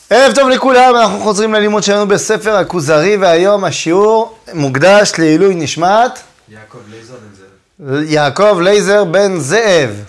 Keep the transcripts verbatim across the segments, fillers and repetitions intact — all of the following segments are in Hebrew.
ערב טוב לכולם, אנחנו חוזרים ללימוד שלנו בספר הכוזרי, והיום השיעור מוקדש לעילוי נשמת יעקב לייזר בן זאב. יעקב לייזר בן זאב.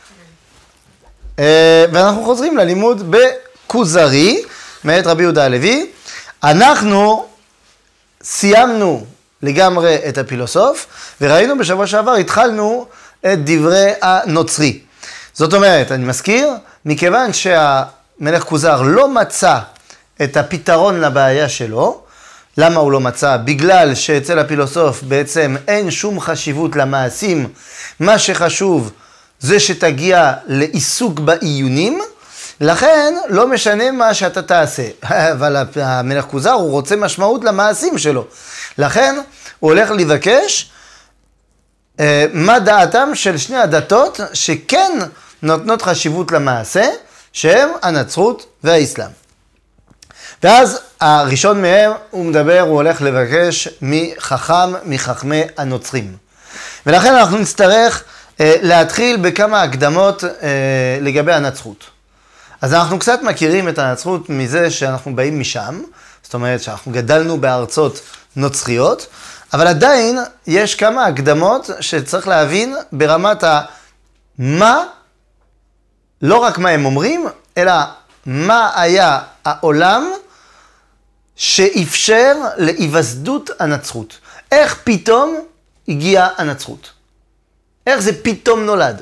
ואנחנו חוזרים ללימוד בכוזרי, מאת רבי יהודה הלוי. אנחנו סיימנו לגמרי את הפילוסוף, וראינו בשבוע שעבר, התחלנו את דברי הנוצרי. זאת אומרת, אני מזכיר, מכיוון שהמלך כוזר לא מצא את הפתרון לבעיה שלו, למה הוא לא מצא? בגלל שאצל הפילוסוף בעצם אין שום חשיבות למעשים, מה שחשוב זה שתגיע לעיסוק בעיונים, לכן לא משנה מה שאתה תעשה, אבל המלך כוזר הוא רוצה משמעות למעשים שלו, לכן הוא הולך לבקש אה, מה דעתם של שני הדתות שכן נותנות חשיבות למעשה, שהם הנצרות והאסלאם. ואז הראשון מהם הוא מדבר, הוא הולך לבקש מחכם, מחכמי הנוצרים. ולכן אנחנו נצטרך אה, להתחיל בכמה הקדמות אה, לגבי הנצרות. אז אנחנו קצת מכירים את הנצרות מזה שאנחנו באים משם, זאת אומרת שאנחנו גדלנו בארצות נוצריות, אבל עדיין יש כמה הקדמות שצריך להבין ברמת ה... מה, לא רק מה הם אומרים, אלא מה היה העולם שאפשר להיווסדות הנצרות. איך פתאום הגיעה הנצרות? איך זה פתאום נולד?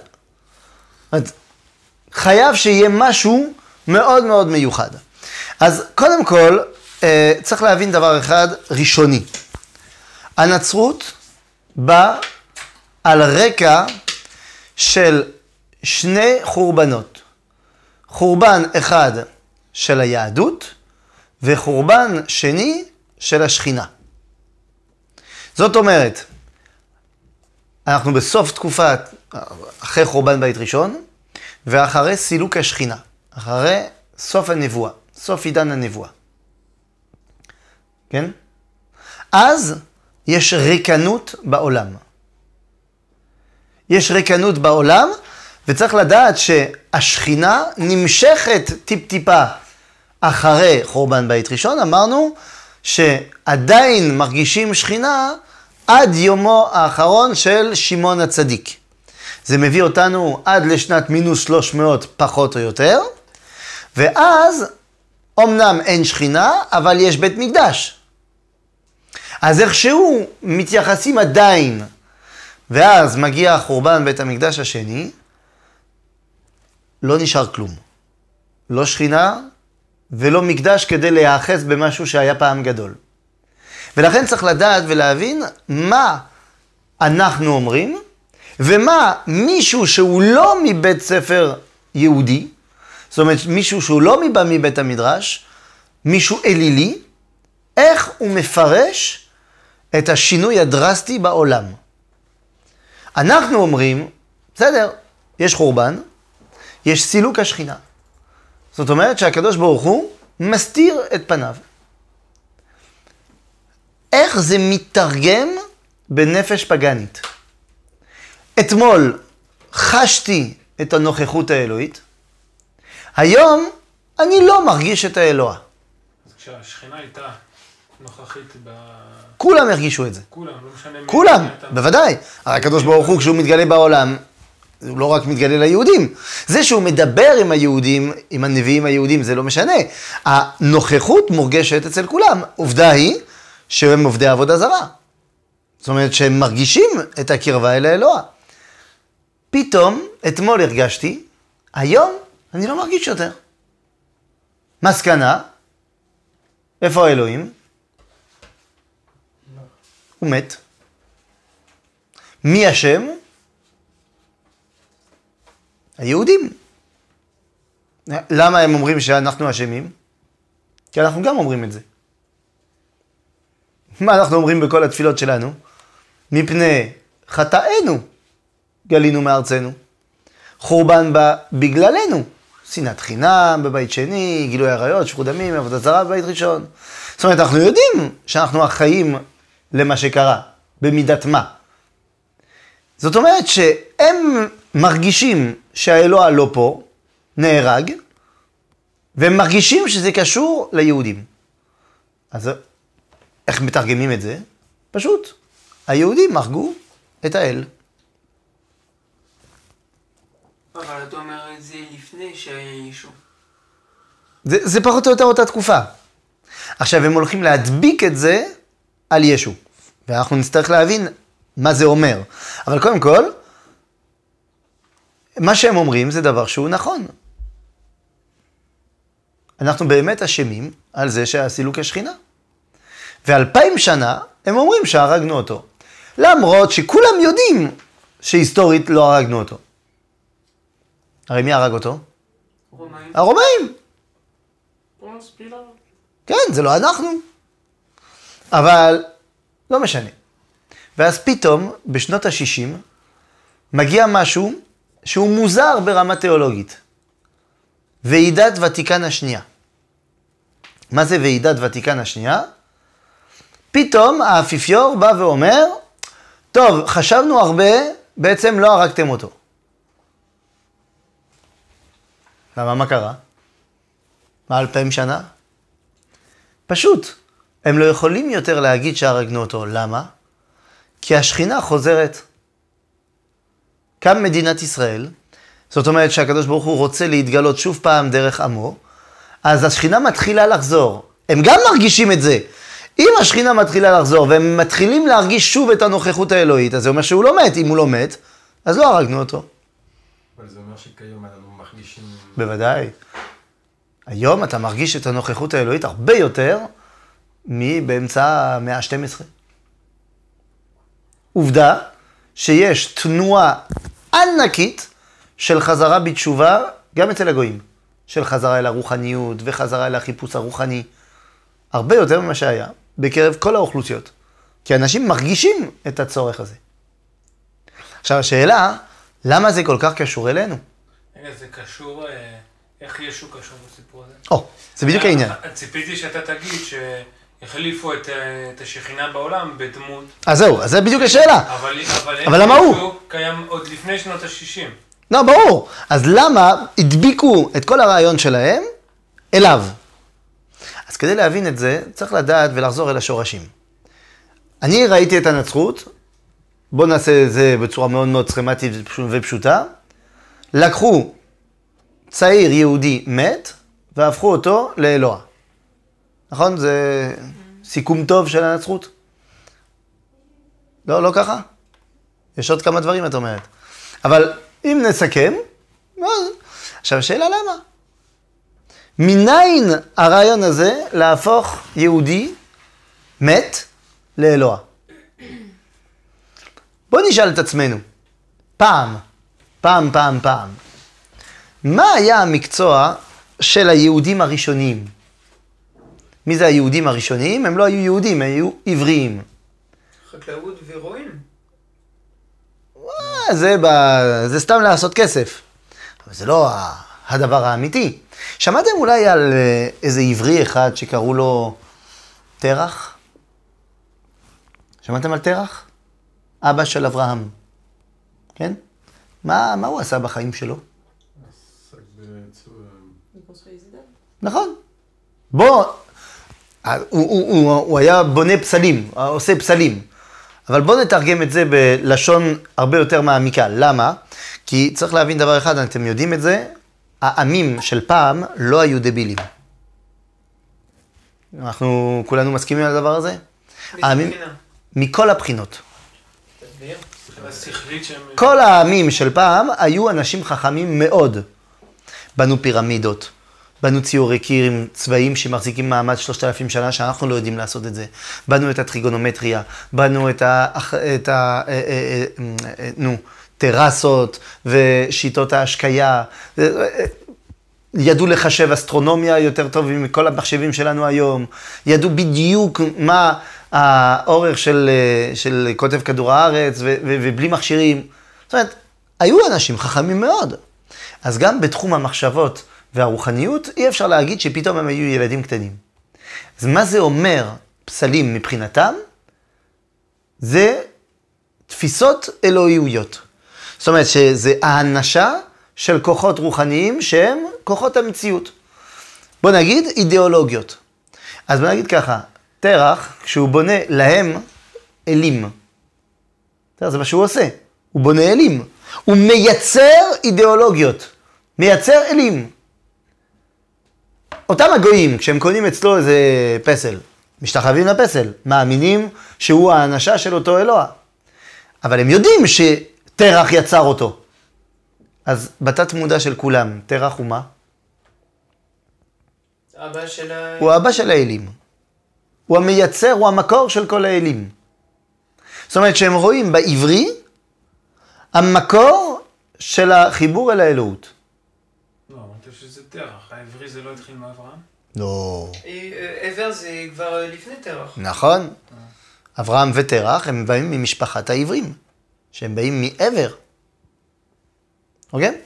חייב שיהיה משהו מאוד מאוד מיוחד. אז קודם כל, צריך להבין דבר אחד ראשוני. הנצרות באה על רקע של שני חורבנות. חורבן אחד של היהדות, וחורבן שני של השכינה. זאת אומרת, אנחנו בסוף תקופת, אחרי חורבן בית ראשון, ואחרי סילוק השכינה, אחרי סוף הנבואה, סוף עידן הנבואה. כן? אז יש ריקנות בעולם. יש ריקנות בעולם, וצריך לדעת שהשכינה נמשכת טיפ-טיפה אחרי חורבן בית ראשון. אמרנו שעדיין מרגישים שכינה עד יומו האחרון של שמעון הצדיק. זה מביא אותנו עד לשנת מינוס שלוש מאות פחות או יותר, ואז אמנם אין שכינה, אבל יש בית מקדש. אז איכשהו מתייחסים עדיין, ואז מגיע חורבן בית המקדש השני, לא נשאר כלום. לא שכינה ולא מקדש כדי להיאחז במשהו שהיה פעם גדול. ולכן צריך לדעת ולהבין מה אנחנו אומרים, ומה מישהו שהוא לא מבית ספר יהודי, זאת אומרת מישהו שהוא לא מבא מבית המדרש, מישהו אלילי, איך הוא מפרש את השינוי הדרסטי בעולם. אנחנו אומרים, בסדר, יש חורבן, יש סילוק השכינה. זאת אומרת שהקדוש ברוך הוא מסתיר את פניו. איך זה מתרגם בנפש פגנית? אתמול חשתי את הנוכחות האלוהית, היום אני לא מרגיש את האלוה. אז כשהשכינה הייתה נוכחית ב... כולם הרגישו את זה. כולם, לא משנה מי... כולם, בוודאי. הרי הקדוש ברוך הוא כשהוא מתגלה בעולם, הוא לא רק מתגלה ליהודים. זה שהוא מדבר עם היהודים, עם הנביאים היהודים, זה לא משנה. הנוכחות מורגשת אצל כולם. עובדה היא שהם עובדי עבודה זרה. זאת אומרת שהם מרגישים את הקרבה אל האלוה. פתאום, אתמול הרגשתי, היום אני לא מרגיש יותר. מסקנה, איפה האלוהים? הוא מת. מי השם? היהודים. למה הם אומרים שאנחנו אשמים? כי אנחנו גם אומרים את זה. מה אנחנו אומרים בכל התפילות שלנו? מפני חטאינו גלינו מארצנו. חורבן בא בגללנו. שנאת חינם בבית שני, גילוי עריות, שפיכות דמים, עבודה זרה בבית ראשון. זאת אומרת, אנחנו יודעים שאנחנו אחראים למה שקרה, במידת מה. זאת אומרת שהם מרגישים שהאלוה לא פה, נהרג, והם מרגישים שזה קשור ליהודים. אז איך מתרגמים את זה? פשוט, היהודים הרגו את האל. אבל אתה אומר את זה לפני שהיה ישו. זה, זה פחות או יותר אותה תקופה. עכשיו הם הולכים להדביק את זה על ישו. ואנחנו נצטרך להבין מה זה אומר. אבל קודם כל, מה שהם אומרים זה דבר שהוא נכון. אנחנו באמת אשמים על זה שעשינו כשכינה. ואלפיים שנה הם אומרים שהרגנו אותו. למרות שכולם יודעים שהיסטורית לא הרגנו אותו. הרי מי הרג אותו? רומאים. הרומאים. פונס פילאט. כן, זה לא אנחנו. אבל לא משנה. ואז פתאום, בשנות ה-שישים, מגיע משהו שהוא מוזר ברמה תיאולוגית. ועידת ותיקן השנייה. מה זה ועידת ותיקן השנייה? פתאום האפיפיור בא ואומר, טוב, חשבנו הרבה, בעצם לא הרגתם אותו. למה, מה קרה? מה אלפיים שנה? פשוט, הם לא יכולים יותר להגיד שהרגנו אותו. למה? כי השכינה חוזרת. קם מדינת ישראל, זאת אומרת שהקדוש ברוך הוא רוצה להתגלות שוב פעם דרך עמו, אז השכינה מתחילה לחזור. הם גם מרגישים את זה. אם השכינה מתחילה לחזור והם מתחילים להרגיש שוב את הנוכחות האלוהית, אז זה אומר שהוא לא מת. אם הוא לא מת, אז לא הרגנו אותו. אבל זה אומר שכיום אנחנו מרגישים... בוודאי. היום אתה מרגיש את הנוכחות האלוהית הרבה יותר מבאמצע המאה ה-שתים עשרה. עובדה שיש תנועה ענקית של חזרה בתשובה, גם אצל הגויים, של חזרה אל הרוחניות וחזרה אל החיפוש הרוחני, הרבה יותר ממה שהיה בקרב כל האוכלוסיות, כי אנשים מרגישים את הצורך הזה. עכשיו השאלה, למה זה כל כך קשור אלינו? רגע, זה קשור, אה, איך ישו קשור בסיפור הזה? או, זה בדיוק העניין. ציפיתי שאתה תגיד שהחליפו את, אה, את השכינה בעולם בדמות. אז זהו, אז זה בדיוק השאלה. אבל, אבל, אבל למה הוא? ישו קיים עוד לפני שנות ה-שישים. לא, ברור. אז למה הדביקו את כל הרעיון שלהם אליו? אז כדי להבין את זה, צריך לדעת ולחזור אל השורשים. אני ראיתי את הנצרות, בואו נעשה את זה בצורה מאוד מאוד סכמטית ופשוטה. לקחו צעיר יהודי מת, והפכו אותו לאלוה. נכון? זה סיכום טוב של הנצרות? לא, לא ככה? יש עוד כמה דברים, את אומרת. אבל אם נסכם, אז... עכשיו השאלה למה? מניין הרעיון הזה להפוך יהודי מת לאלוה? בואו נשאל את עצמנו, פעם, פעם, פעם, פעם, מה היה המקצוע של היהודים הראשוניים? מי זה היהודים הראשוניים? הם לא היו יהודים, הם היו עבריים. חקלאות ורועים. זה, ב... זה סתם לעשות כסף. אבל זה לא הדבר האמיתי. שמעתם אולי על איזה עברי אחד שקראו לו תרח? שמעתם על תרח? אבא של אברהם. כן? מה, מה הוא עשה בחיים שלו? נכון. בוא, הוא, הוא, הוא, הוא היה בונה פסלים, עושה פסלים. אבל בואו נתרגם את זה בלשון הרבה יותר מעמיקה. למה? כי צריך להבין דבר אחד, אתם יודעים את זה, העמים של פעם לא היו דבילים. אנחנו כולנו מסכימים על הדבר הזה? העמים, מכל הבחינות. כל העמים של פעם היו אנשים חכמים מאוד. בנו פירמידות, בנו ציורי קיר צבאיים שמחזיקים מעמד שלושת אלפים שנה, שאנחנו לא יודעים לעשות את זה. בנו את הטריגונומטריה, בנו את ה... את ה נו, טרסות ושיטות ההשקיה. ידעו לחשב אסטרונומיה יותר טוב מכל המחשבים שלנו היום. ידעו בדיוק מה האורך של, של כותב כדור הארץ ו, ו, ובלי מכשירים. זאת אומרת, היו אנשים חכמים מאוד. אז גם בתחום המחשבות והרוחניות, אי אפשר להגיד שפתאום הם היו ילדים קטנים. אז מה זה אומר פסלים מבחינתם? זה תפיסות אלוהיויות. זאת אומרת שזה האנשה של כוחות רוחניים שהם כוחות המציאות. בוא נגיד אידיאולוגיות. אז בוא נגיד ככה, תרח, כשהוא בונה להם אלים, זה מה שהוא עושה, הוא בונה אלים, הוא מייצר אידיאולוגיות, מייצר אלים. אותם הגויים, כשהם קונים אצלו איזה פסל, משתחווים לפסל, מאמינים שהוא האנשה של אותו אלוה. אבל הם יודעים שתרח יצר אותו. אז בתת מודע של כולם, תרח הוא מה? אבא של ה... הוא האבא של האלים. הוא המייצר, הוא המקור של כל האלים. זאת אומרת שהם רואים בעברי המקור של החיבור אל האלוהות. לא, אמרת שזה תרח, העברי זה לא התחיל מאברהם? לא. עבר זה כבר לפני תרח. נכון. אברהם ותרח הם באים ממשפחת העברים, שהם באים מעבר. אוקיי?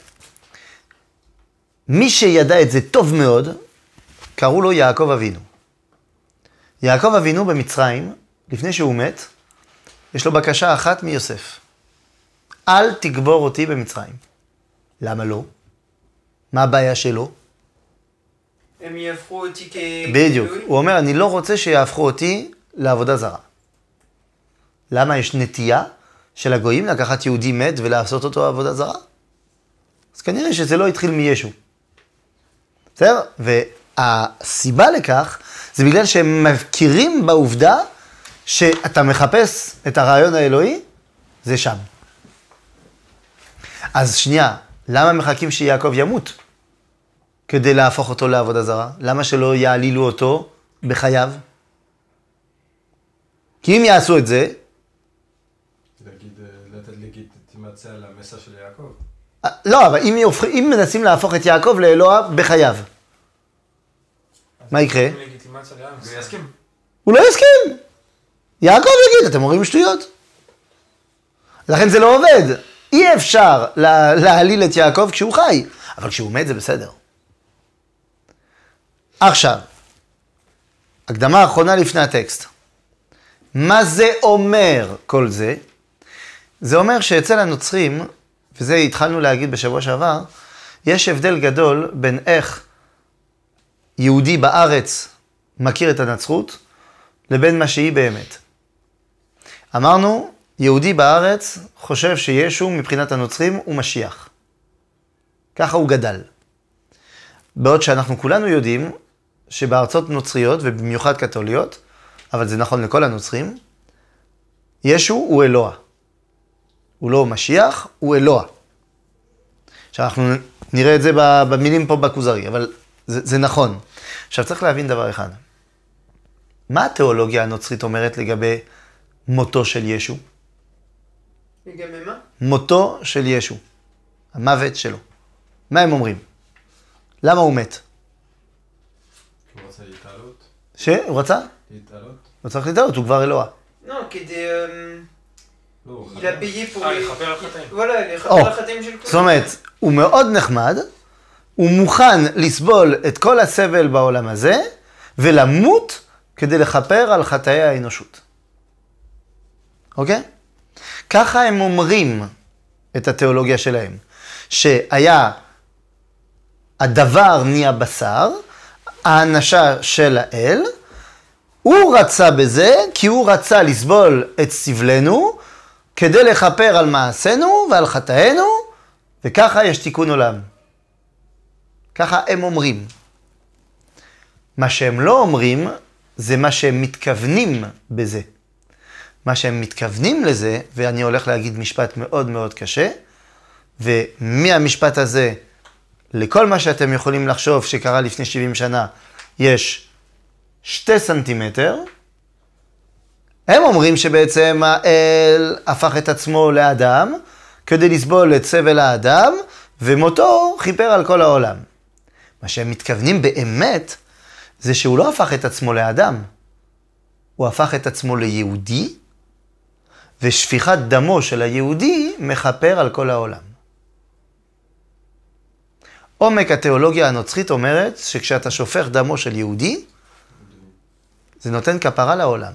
מי שידע את זה טוב מאוד, קראו לו יעקב אבינו. יעקב אבינו במצרים, לפני שהוא מת, יש לו בקשה אחת מיוסף. אל תגבור אותי במצרים. למה לא? מה הבעיה שלו? הם יהפכו אותי כ... בדיוק. הוא אומר, אני לא רוצה שיהפכו אותי לעבודה זרה. למה יש נטייה של הגויים לקחת יהודי מת ולעשות אותו עבודה זרה? אז כנראה שזה לא התחיל מישו. בסדר? והסיבה לכך זה בגלל שהם מכירים בעובדה שאתה מחפש את הרעיון האלוהי, זה שם. אז שנייה, למה מחכים שיעקב ימות? כדי להפוך אותו לעבודה זרה? למה שלא יעלילו אותו בחייו? כי אם יעשו את זה... להגיד, לתת לגיטימציה למסע של יעקב. לא, אבל אם, יופך, אם מנסים להפוך את יעקב לאלוה בחייו, מה יקרה? לגיטימציה לעם. הוא יסכים. הוא לא יסכים. יעקב יגיד, אתם אומרים שטויות. לכן זה לא עובד. אי אפשר לה, להעליל את יעקב כשהוא חי, אבל כשהוא מת זה בסדר. עכשיו, הקדמה האחרונה לפני הטקסט. מה זה אומר כל זה? זה אומר שאצל הנוצרים, וזה התחלנו להגיד בשבוע שעבר, יש הבדל גדול בין איך יהודי בארץ מכיר את הנצרות, לבין מה שהיא באמת. אמרנו, יהודי בארץ חושב שישו מבחינת הנוצרים הוא משיח. ככה הוא גדל. בעוד שאנחנו כולנו יודעים שבארצות נוצריות, ובמיוחד קתוליות, אבל זה נכון לכל הנוצרים, ישו הוא אלוה. הוא לא משיח, הוא אלוה. עכשיו אנחנו נראה את זה במילים פה בכוזרי, אבל זה, זה נכון. עכשיו צריך להבין דבר אחד. מה התיאולוגיה הנוצרית אומרת לגבי מותו של ישו? לגבי מה? מותו של ישו. המוות שלו. מה הם אומרים? למה הוא מת? הוא רוצה להתעלות. שהוא רצה? להתעלות. הוא צריך להתעלות, הוא כבר אלוה. לא, כדי... לא, הוא il a payé pour... אה, les- לכפר על החטאים. וואלה, לכפר או, על החטאים של זאת אומרת, הוא מאוד נחמד, הוא מוכן לסבול את כל הסבל בעולם הזה, ולמות כדי לכפר על חטאי האנושות. אוקיי? ככה הם אומרים את התיאולוגיה שלהם, שהיה הדבר נהיה בשר, האנשה של האל, הוא רצה בזה כי הוא רצה לסבול את סבלנו, כדי לכפר על מעשינו ועל חטאינו, וככה יש תיקון עולם. ככה הם אומרים. מה שהם לא אומרים, זה מה שהם מתכוונים בזה. מה שהם מתכוונים לזה, ואני הולך להגיד משפט מאוד מאוד קשה, ומהמשפט הזה, לכל מה שאתם יכולים לחשוב שקרה לפני שבעים שנה, יש שתי סנטימטר, הם אומרים שבעצם האל הפך את עצמו לאדם, כדי לסבול את סבל האדם, ומותו חיפר על כל העולם. מה שהם מתכוונים באמת, זה שהוא לא הפך את עצמו לאדם, הוא הפך את עצמו ליהודי, ושפיכת דמו של היהודי מחפר על כל העולם. עומק התיאולוגיה הנוצרית אומרת שכשאתה שופך דמו של יהודי, זה נותן כפרה לעולם.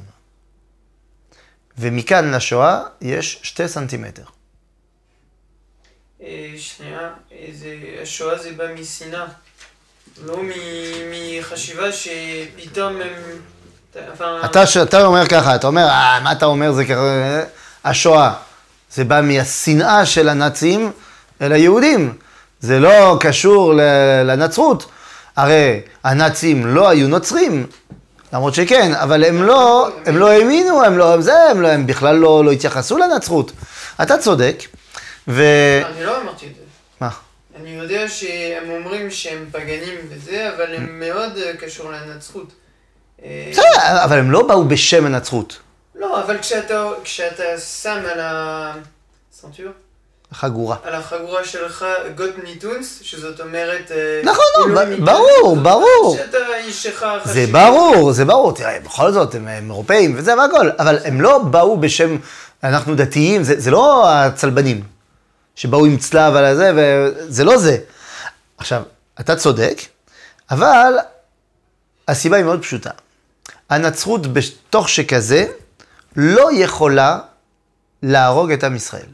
ומכאן לשואה יש שתי סנטימטר. אה, שנייה, זה- השואה זה בא משנאה. לא מ- מחשיבה שפתאום הם... אתה, אתה אומר ככה, אתה אומר, אה, מה אתה אומר, זה ככה, השואה. זה בא מהשנאה של הנאצים אל היהודים. זה לא קשור לנצרות. הרי הנאצים לא היו נוצרים, למרות שכן, אבל הם לא, הם לא האמינו, הם לא, זה, הם, לא, הם בכלל לא, לא התייחסו לנצרות. אתה צודק, ו... אני לא אמרתי את זה. מה? אני יודע שהם אומרים שהם פגנים וזה, אבל הם מאוד קשור לנצרות. בסדר, אבל הם לא באו בשם הנצרות. לא, אבל כשאתה, כשאתה שם על הסנטור, חגורה. על החגורה שלך גוט ניטונס, שזאת אומרת... נכון, לא, ברור, ברור. שאתה איש שלך חשיב. זה ברור, זה ברור. תראה, בכל זאת, הם אירופאים וזה והכל, אבל הם לא באו בשם, אנחנו דתיים, זה, זה לא הצלבנים שבאו עם צלב על הזה, וזה לא זה. עכשיו, אתה צודק, אבל הסיבה היא מאוד פשוטה. הנצרות בתוך שכזה לא יכולה להרוג את עם ישראל.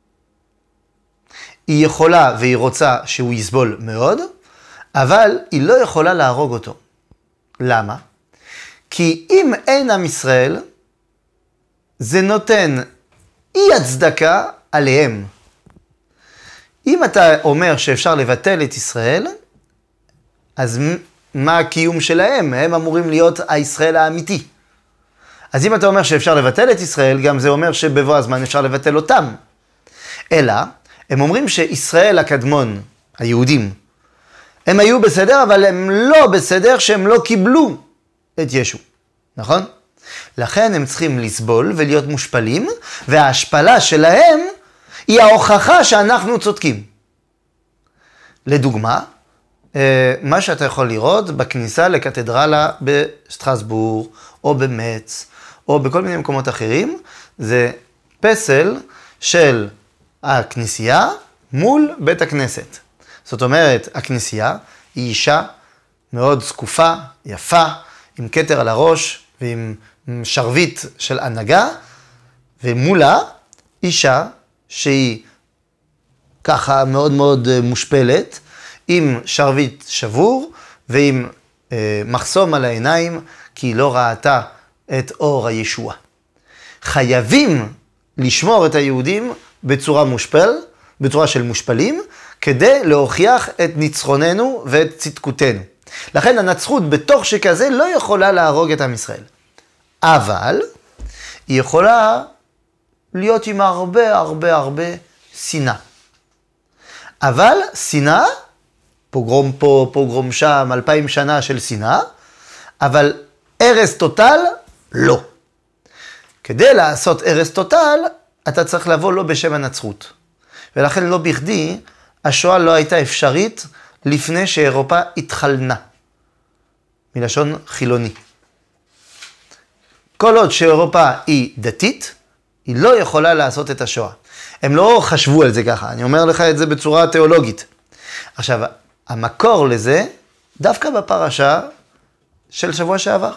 היא יכולה והיא רוצה שהוא יסבול מאוד, אבל היא לא יכולה להרוג אותו. למה? כי אם אין עם ישראל, זה נותן אי הצדקה עליהם. אם אתה אומר שאפשר לבטל את ישראל, אז מה הקיום שלהם? הם אמורים להיות הישראל האמיתי. אז אם אתה אומר שאפשר לבטל את ישראל, גם זה אומר שבבוא הזמן אפשר לבטל אותם. אלא, הם אומרים שישראל הקדמון, היהודים, הם היו בסדר, אבל הם לא בסדר שהם לא קיבלו את ישו. נכון? לכן הם צריכים לסבול ולהיות מושפלים, וההשפלה שלהם היא ההוכחה שאנחנו צודקים. לדוגמה, מה שאתה יכול לראות בכניסה לקתדרלה בסטרסבורג, או במץ, או בכל מיני מקומות אחרים, זה פסל של הכנסייה מול בית הכנסת. זאת אומרת, הכנסייה היא אישה מאוד זקופה, יפה, עם כתר על הראש ועם שרביט של הנהגה, ומולה אישה שהיא ככה מאוד מאוד מושפלת, עם שרביט שבור ועם אה, מחסום על העיניים, כי היא לא ראתה את אור הישוע. חייבים לשמור את היהודים בצורה מושפל, בצורה של מושפלים, כדי להוכיח את ניצחוננו ואת צדקותנו. לכן הנצרות בתוך שכזה לא יכולה להרוג את עם ישראל. אבל היא יכולה להיות עם הרבה הרבה הרבה שנאה. אבל שנאה, פוגרום פה, פוגרום שם, אלפיים שנה של שנאה, אבל הרס טוטל, לא. כדי לעשות הרס טוטל, אתה צריך לבוא לא בשם הנצרות. ולכן לא בכדי, השואה לא הייתה אפשרית לפני שאירופה התחלנה. מלשון חילוני. כל עוד שאירופה היא דתית, היא לא יכולה לעשות את השואה. הם לא חשבו על זה ככה, אני אומר לך את זה בצורה תיאולוגית. עכשיו, המקור לזה, דווקא בפרשה של שבוע שעבר.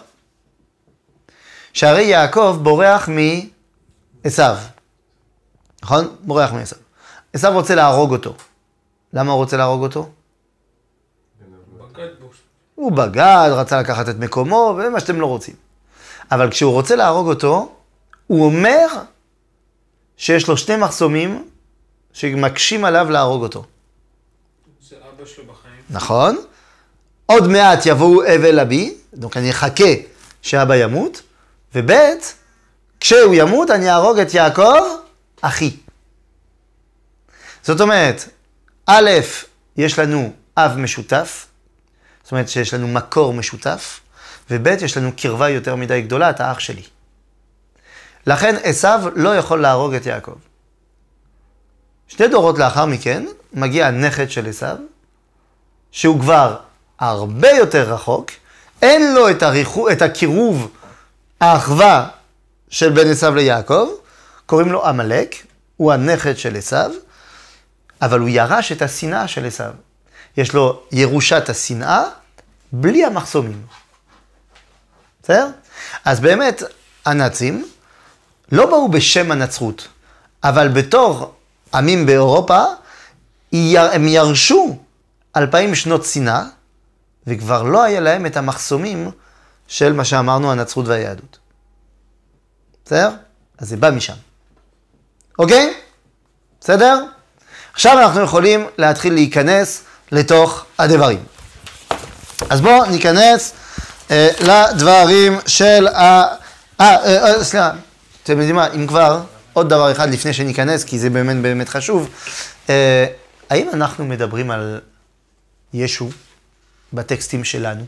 שהרי יעקב בורח מעשיו. נכון? בורח מעשיו. עשיו רוצה להרוג אותו. למה הוא רוצה להרוג אותו? בגד בו. הוא בגד, רצה לקחת את מקומו, ומה שאתם לא רוצים. אבל כשהוא רוצה להרוג אותו, הוא אומר שיש לו שני מחסומים שמקשים עליו להרוג אותו. זה אבא שלו בחיים. נכון. עוד מעט יבואו אבל אבי, donc אני אחכה שאבא ימות, ובית, כשהוא ימות אני אהרוג את יעקב, אחי. זאת אומרת, א', יש לנו אב משותף, זאת אומרת שיש לנו מקור משותף, וב', יש לנו קרבה יותר מדי גדולה, אתה אח שלי. לכן עשיו לא יכול להרוג את יעקב. שתי דורות לאחר מכן, מגיע הנכד של עשיו, שהוא כבר הרבה יותר רחוק, אין לו את, הריחו, את הקירוב, האחווה של בן עשיו ליעקב, קוראים לו עמלק, הוא הנכד של עשיו, אבל הוא ירש את השנאה של עשיו. יש לו ירושת השנאה, בלי המחסומים. בסדר? אז באמת, הנאצים לא באו בשם הנצרות, אבל בתור עמים באירופה, הם ירשו אלפיים שנות שנאה, וכבר לא היה להם את המחסומים של מה שאמרנו, הנצרות והיהדות. בסדר? אז זה בא משם. אוקיי? בסדר? עכשיו אנחנו יכולים להתחיל להיכנס לתוך הדברים. אז בואו ניכנס אה, לדברים של ה... אה, אה, אה, סליחה, אתם יודעים מה, אם כבר, עוד דבר אחד לפני שניכנס, כי זה באמת באמת חשוב. אה, האם אנחנו מדברים על ישו בטקסטים שלנו?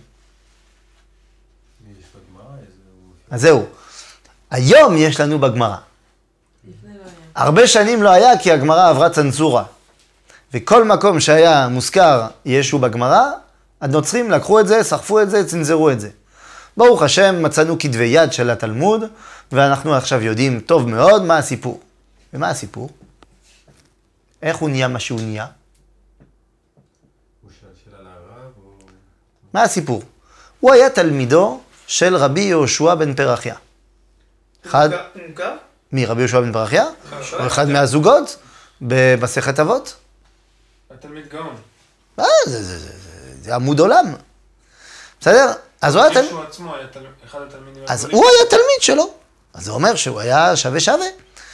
יש בגמרא איזה... אז זהו. היום יש לנו בגמרא. לפני לא היה. הרבה שנים לא היה כי הגמרא עברה צנזורה. וכל מקום שהיה מוזכר ישו בגמרא, הנוצרים לקחו את זה, סחפו את זה, צנזרו את זה. ברוך השם, מצאנו כתבי יד של התלמוד, ואנחנו עכשיו יודעים טוב מאוד מה הסיפור. ומה הסיפור? איך הוא נהיה מה שהוא נהיה? הוא שאל שאלה לרב או... מה הסיפור? הוא היה תלמידו של רבי יהושע בן פרחיה. אחד... מוכר? מי? רבי יהושע בן פרחיה? או אחד מהזוגות במסכת אבות? התלמיד גאון. אה, זה, זה, זה, זה, זה עמוד עולם. בסדר? אז הוא היה תלמיד... ישו עצמו היה תל- אחד התלמידים אז הגדולים. הוא היה תלמיד שלו. אז זה אומר שהוא היה שווה שווה.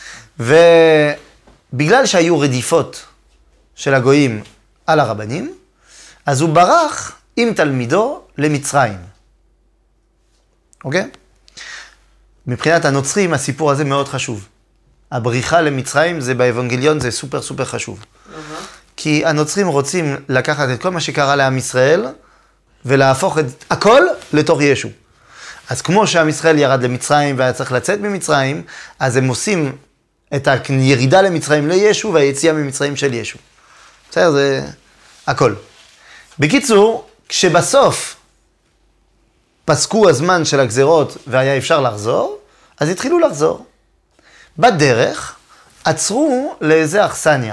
ובגלל שהיו רדיפות של הגויים על הרבנים, אז הוא ברח עם תלמידו למצרים. אוקיי? מבחינת הנוצרים הסיפור הזה מאוד חשוב. הבריחה למצרים זה באבנגליון זה סופר סופר חשוב. למה? כי הנוצרים רוצים לקחת את כל מה שקרה לעם ישראל ולהפוך את הכל לתוך ישו. אז כמו שעם ישראל ירד למצרים והיה צריך לצאת ממצרים, אז הם עושים את הירידה למצרים לישו והיציאה ממצרים של ישו. בסדר, זה הכל. בקיצור, כשבסוף פסקו הזמן של הגזרות והיה אפשר לחזור, אז התחילו לחזור. בדרך עצרו לאיזה אכסניה.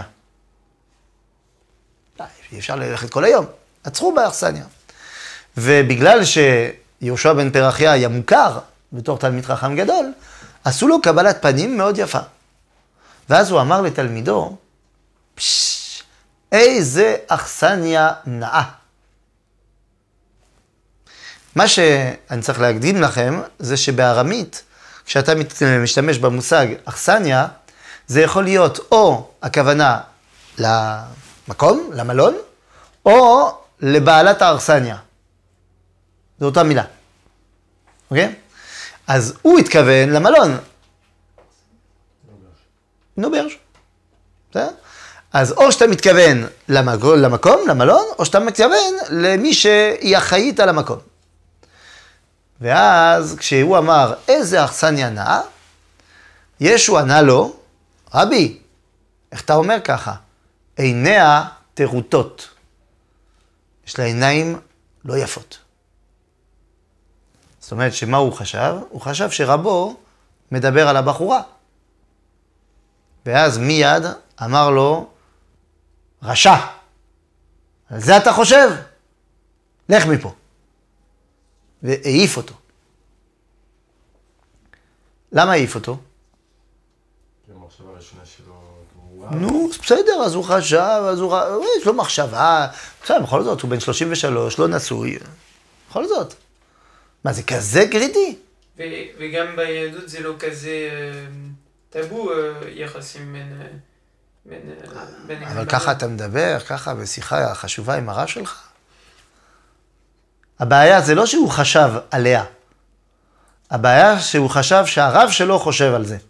אי אפשר ללכת כל היום. עצרו באכסניה. ובגלל שיהושע בן פרחיה היה מוכר בתור תלמיד חכם גדול, עשו לו קבלת פנים מאוד יפה. ואז הוא אמר לתלמידו, פשש, איזה אכסניה נאה. מה שאני צריך להקדים לכם, זה שבארמית, כשאתה משתמש במושג אכסניה, זה יכול להיות או הכוונה למקום, למלון, או לבעלת האכסניה. זו אותה מילה. אוקיי? אז הוא התכוון למלון. נוברש. בסדר? אז או שאתה מתכוון למקום, למלון, או שאתה מתכוון למי שהיא אחראית על המקום. ואז כשהוא אמר, איזה אכסניה נאה, ישו ענה לו, רבי, איך אתה אומר ככה? עיניה טרוטות. יש לה עיניים לא יפות. זאת אומרת, שמה הוא חשב? הוא חשב שרבו מדבר על הבחורה. ואז מיד אמר לו, רשע, על זה אתה חושב? לך מפה. והעיף אותו. למה העיף אותו? כי המחשבה הראשונה שלו גמורה. נו, בסדר, אז הוא חשב, אז הוא... יש לו מחשבה. בסדר, בכל זאת, הוא בן שלושים ושלוש, לא נשוי. בכל זאת. מה, זה כזה קריטי? ו- וגם ביהדות זה לא כזה אה, טאבו אה, יחסים בין... אה, בין, אה, בין אבל הגברים. ככה אתה מדבר, ככה בשיחה חשובה עם הרב שלך. הבעיה זה לא שהוא חשב עליה. הבעיה שהוא חשב שהרב שלו חושב על זה.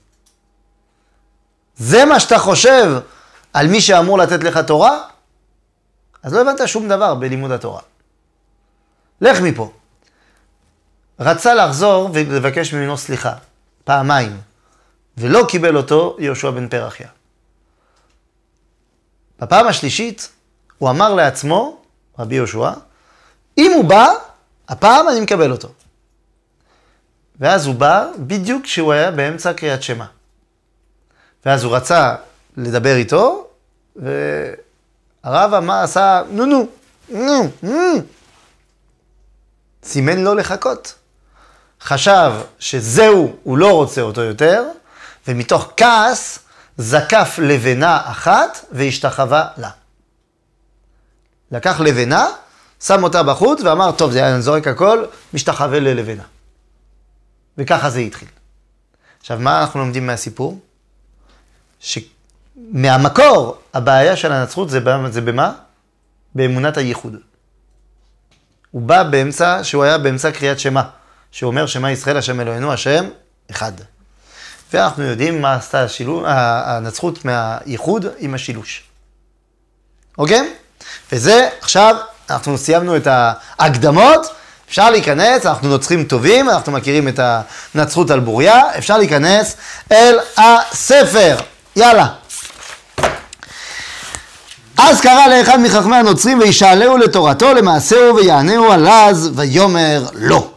זה מה שאתה חושב על מי שאמור לתת לך תורה? אז לא הבנת שום דבר בלימוד התורה. לך מפה. רצה לחזור ולבקש ממנו סליחה, פעמיים, ולא קיבל אותו יהושע בן פרחיה. בפעם השלישית הוא אמר לעצמו, רבי יהושע, אם הוא בא, הפעם אני מקבל אותו. ואז הוא בא בדיוק כשהוא היה באמצע קריאת שמע. ואז הוא רצה לדבר איתו, והרב אמר, עשה, נו נו, נו, נו. סימן לו לחכות. חשב שזהו, הוא לא רוצה אותו יותר, ומתוך כעס זקף לבנה אחת והשתחווה לה. לקח לבנה שם אותה בחוץ ואמר, טוב, זה היה זורק הכל, משתחווה ללבנה. וככה זה התחיל. עכשיו, מה אנחנו לומדים מהסיפור? שמהמקור, הבעיה של הנצרות זה, זה במה? באמונת הייחוד. הוא בא באמצע, שהוא היה באמצע קריאת שמה, שאומר שמה ישראל, השם אלוהינו, השם אחד. ואנחנו יודעים מה עשתה השילו, הנצרות מהייחוד עם השילוש. אוקיי? וזה, עכשיו, אנחנו סיימנו את ההקדמות, אפשר להיכנס, אנחנו נוצרים טובים, אנחנו מכירים את הנצרות על בוריה, אפשר להיכנס אל הספר. יאללה. אז קרא לאחד מחכמי הנוצרים וישאלהו לתורתו, למעשהו ויענהו עלז ויאמר לא.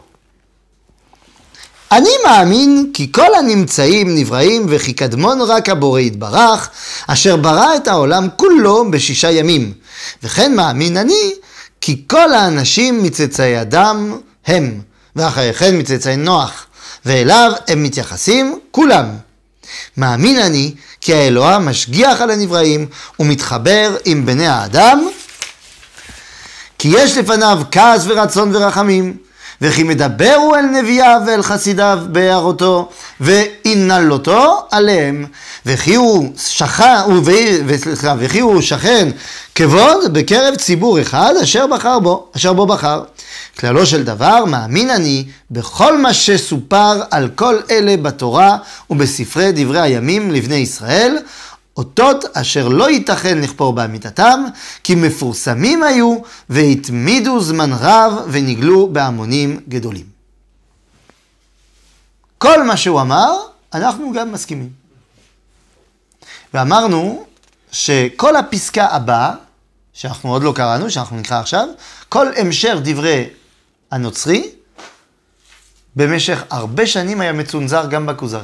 אני מאמין כי כל הנמצאים נבראים וכי קדמון רק הבורא יתברך, אשר ברא את העולם כולו בשישה ימים. וכן מאמין אני כי כל האנשים מצאצאי אדם הם, ואחרי כן מצאצאי נוח, ואליו הם מתייחסים כולם. מאמין אני כי האלוה משגיח על הנבראים ומתחבר עם בני האדם, כי יש לפניו כעס ורצון ורחמים, וכי מדברו אל נביאיו ואל חסידיו בהערותו ואינלותו עליהם, וכי הוא שכן, וכי הוא שכן כבוד בקרב ציבור אחד אשר בחר בו, אשר בו בחר. כללו של דבר, מאמין אני בכל מה שסופר על כל אלה בתורה ובספרי דברי הימים לבני ישראל, אותות אשר לא ייתכן לכפור באמיתתם, כי מפורסמים היו והתמידו זמן רב ונגלו בהמונים גדולים. כל מה שהוא אמר, אנחנו גם מסכימים. ואמרנו שכל הפסקה הבאה, שאנחנו עוד לא קראנו, שאנחנו נקרא עכשיו, כל המשך דברי הנוצרי, במשך הרבה שנים היה מצונזר גם בכוזרי.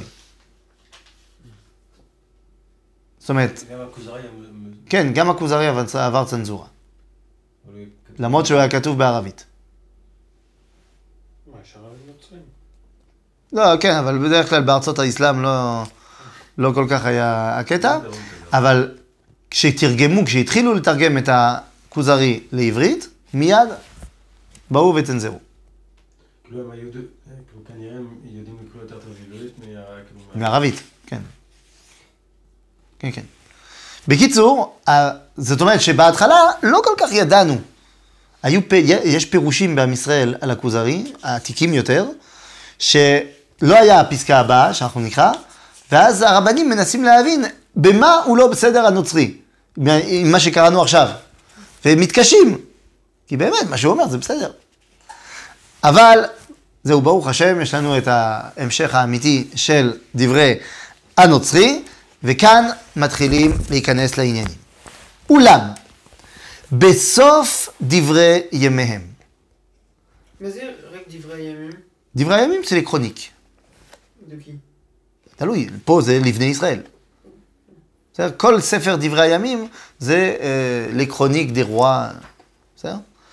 זאת אומרת, גם הכוזרי... כן, גם הכוזרי עבר צנזורה. למרות שהוא היה כתוב בערבית. מה, יש ערבים נוצרים? לא, כן, אבל בדרך כלל בארצות האסלאם לא, לא כל כך היה הקטע. אבל כשתרגמו, כשהתחילו לתרגם את הכוזרי לעברית, מיד באו וצנזרו. כאילו הם היו, כנראה הם יודעים לקרוא יותר טוב עברית מערבית, כן. כן, כן. בקיצור, זאת אומרת שבהתחלה לא כל כך ידענו. היו, יש פירושים בעם ישראל על הכוזרי, העתיקים יותר, שלא היה הפסקה הבאה שאנחנו נקרא, ואז הרבנים מנסים להבין במה הוא לא בסדר הנוצרי, עם מה שקראנו עכשיו. והם מתקשים, כי באמת מה שהוא אומר זה בסדר. אבל זהו, ברוך השם, יש לנו את ההמשך האמיתי של דברי הנוצרי, וכאן מתחילים להיכנס לעניינים. אולם, בסוף דברי ימיהם. מה זה רק דברי ימים? דברי הימים זה לקרוניק. דוקי. תלוי, פה זה לבני ישראל. בסדר? כל ספר דברי הימים זה אה, לקרוניק דה רוע. בסדר?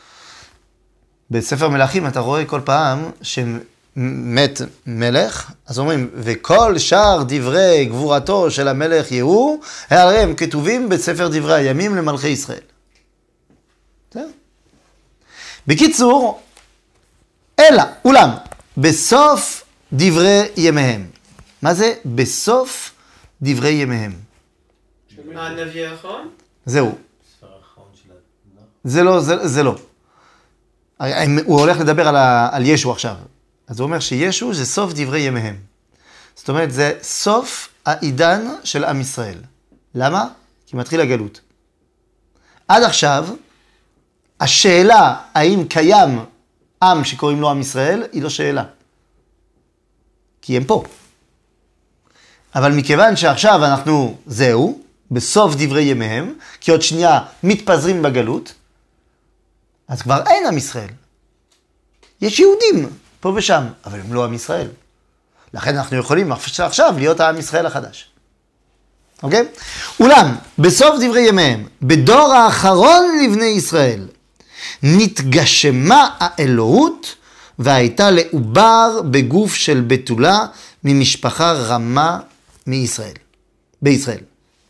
בספר מלכים אתה רואה כל פעם שמת מלך, אז אומרים, וכל שאר דברי גבורתו של המלך יהוא, הרי הם כתובים בספר דברי הימים למלכי ישראל. בסדר? בקיצור, אלא, אולם, בסוף דברי ימיהם. מה זה? בסוף דברי ימיהם. הנביא האחרון? זהו. ספר האחרון של התנ"ך. זה לא, זה, זה לא. הוא הולך לדבר על, ה, על ישו עכשיו. אז הוא אומר שישו זה סוף דברי ימיהם. זאת אומרת, זה סוף העידן של עם ישראל. למה? כי מתחיל הגלות. עד עכשיו, השאלה האם קיים עם שקוראים לו עם ישראל, היא לא שאלה. כי הם פה. אבל מכיוון שעכשיו אנחנו, זהו, בסוף דברי ימיהם, כי עוד שנייה מתפזרים בגלות, אז כבר אין עם ישראל. יש יהודים פה ושם, אבל הם לא עם ישראל. לכן אנחנו יכולים עכשיו להיות העם ישראל החדש. אוקיי? אולם, בסוף דברי ימיהם, בדור האחרון לבני ישראל, נתגשמה האלוהות, והייתה לעובר בגוף של בתולה ממשפחה רמה מישראל, בישראל.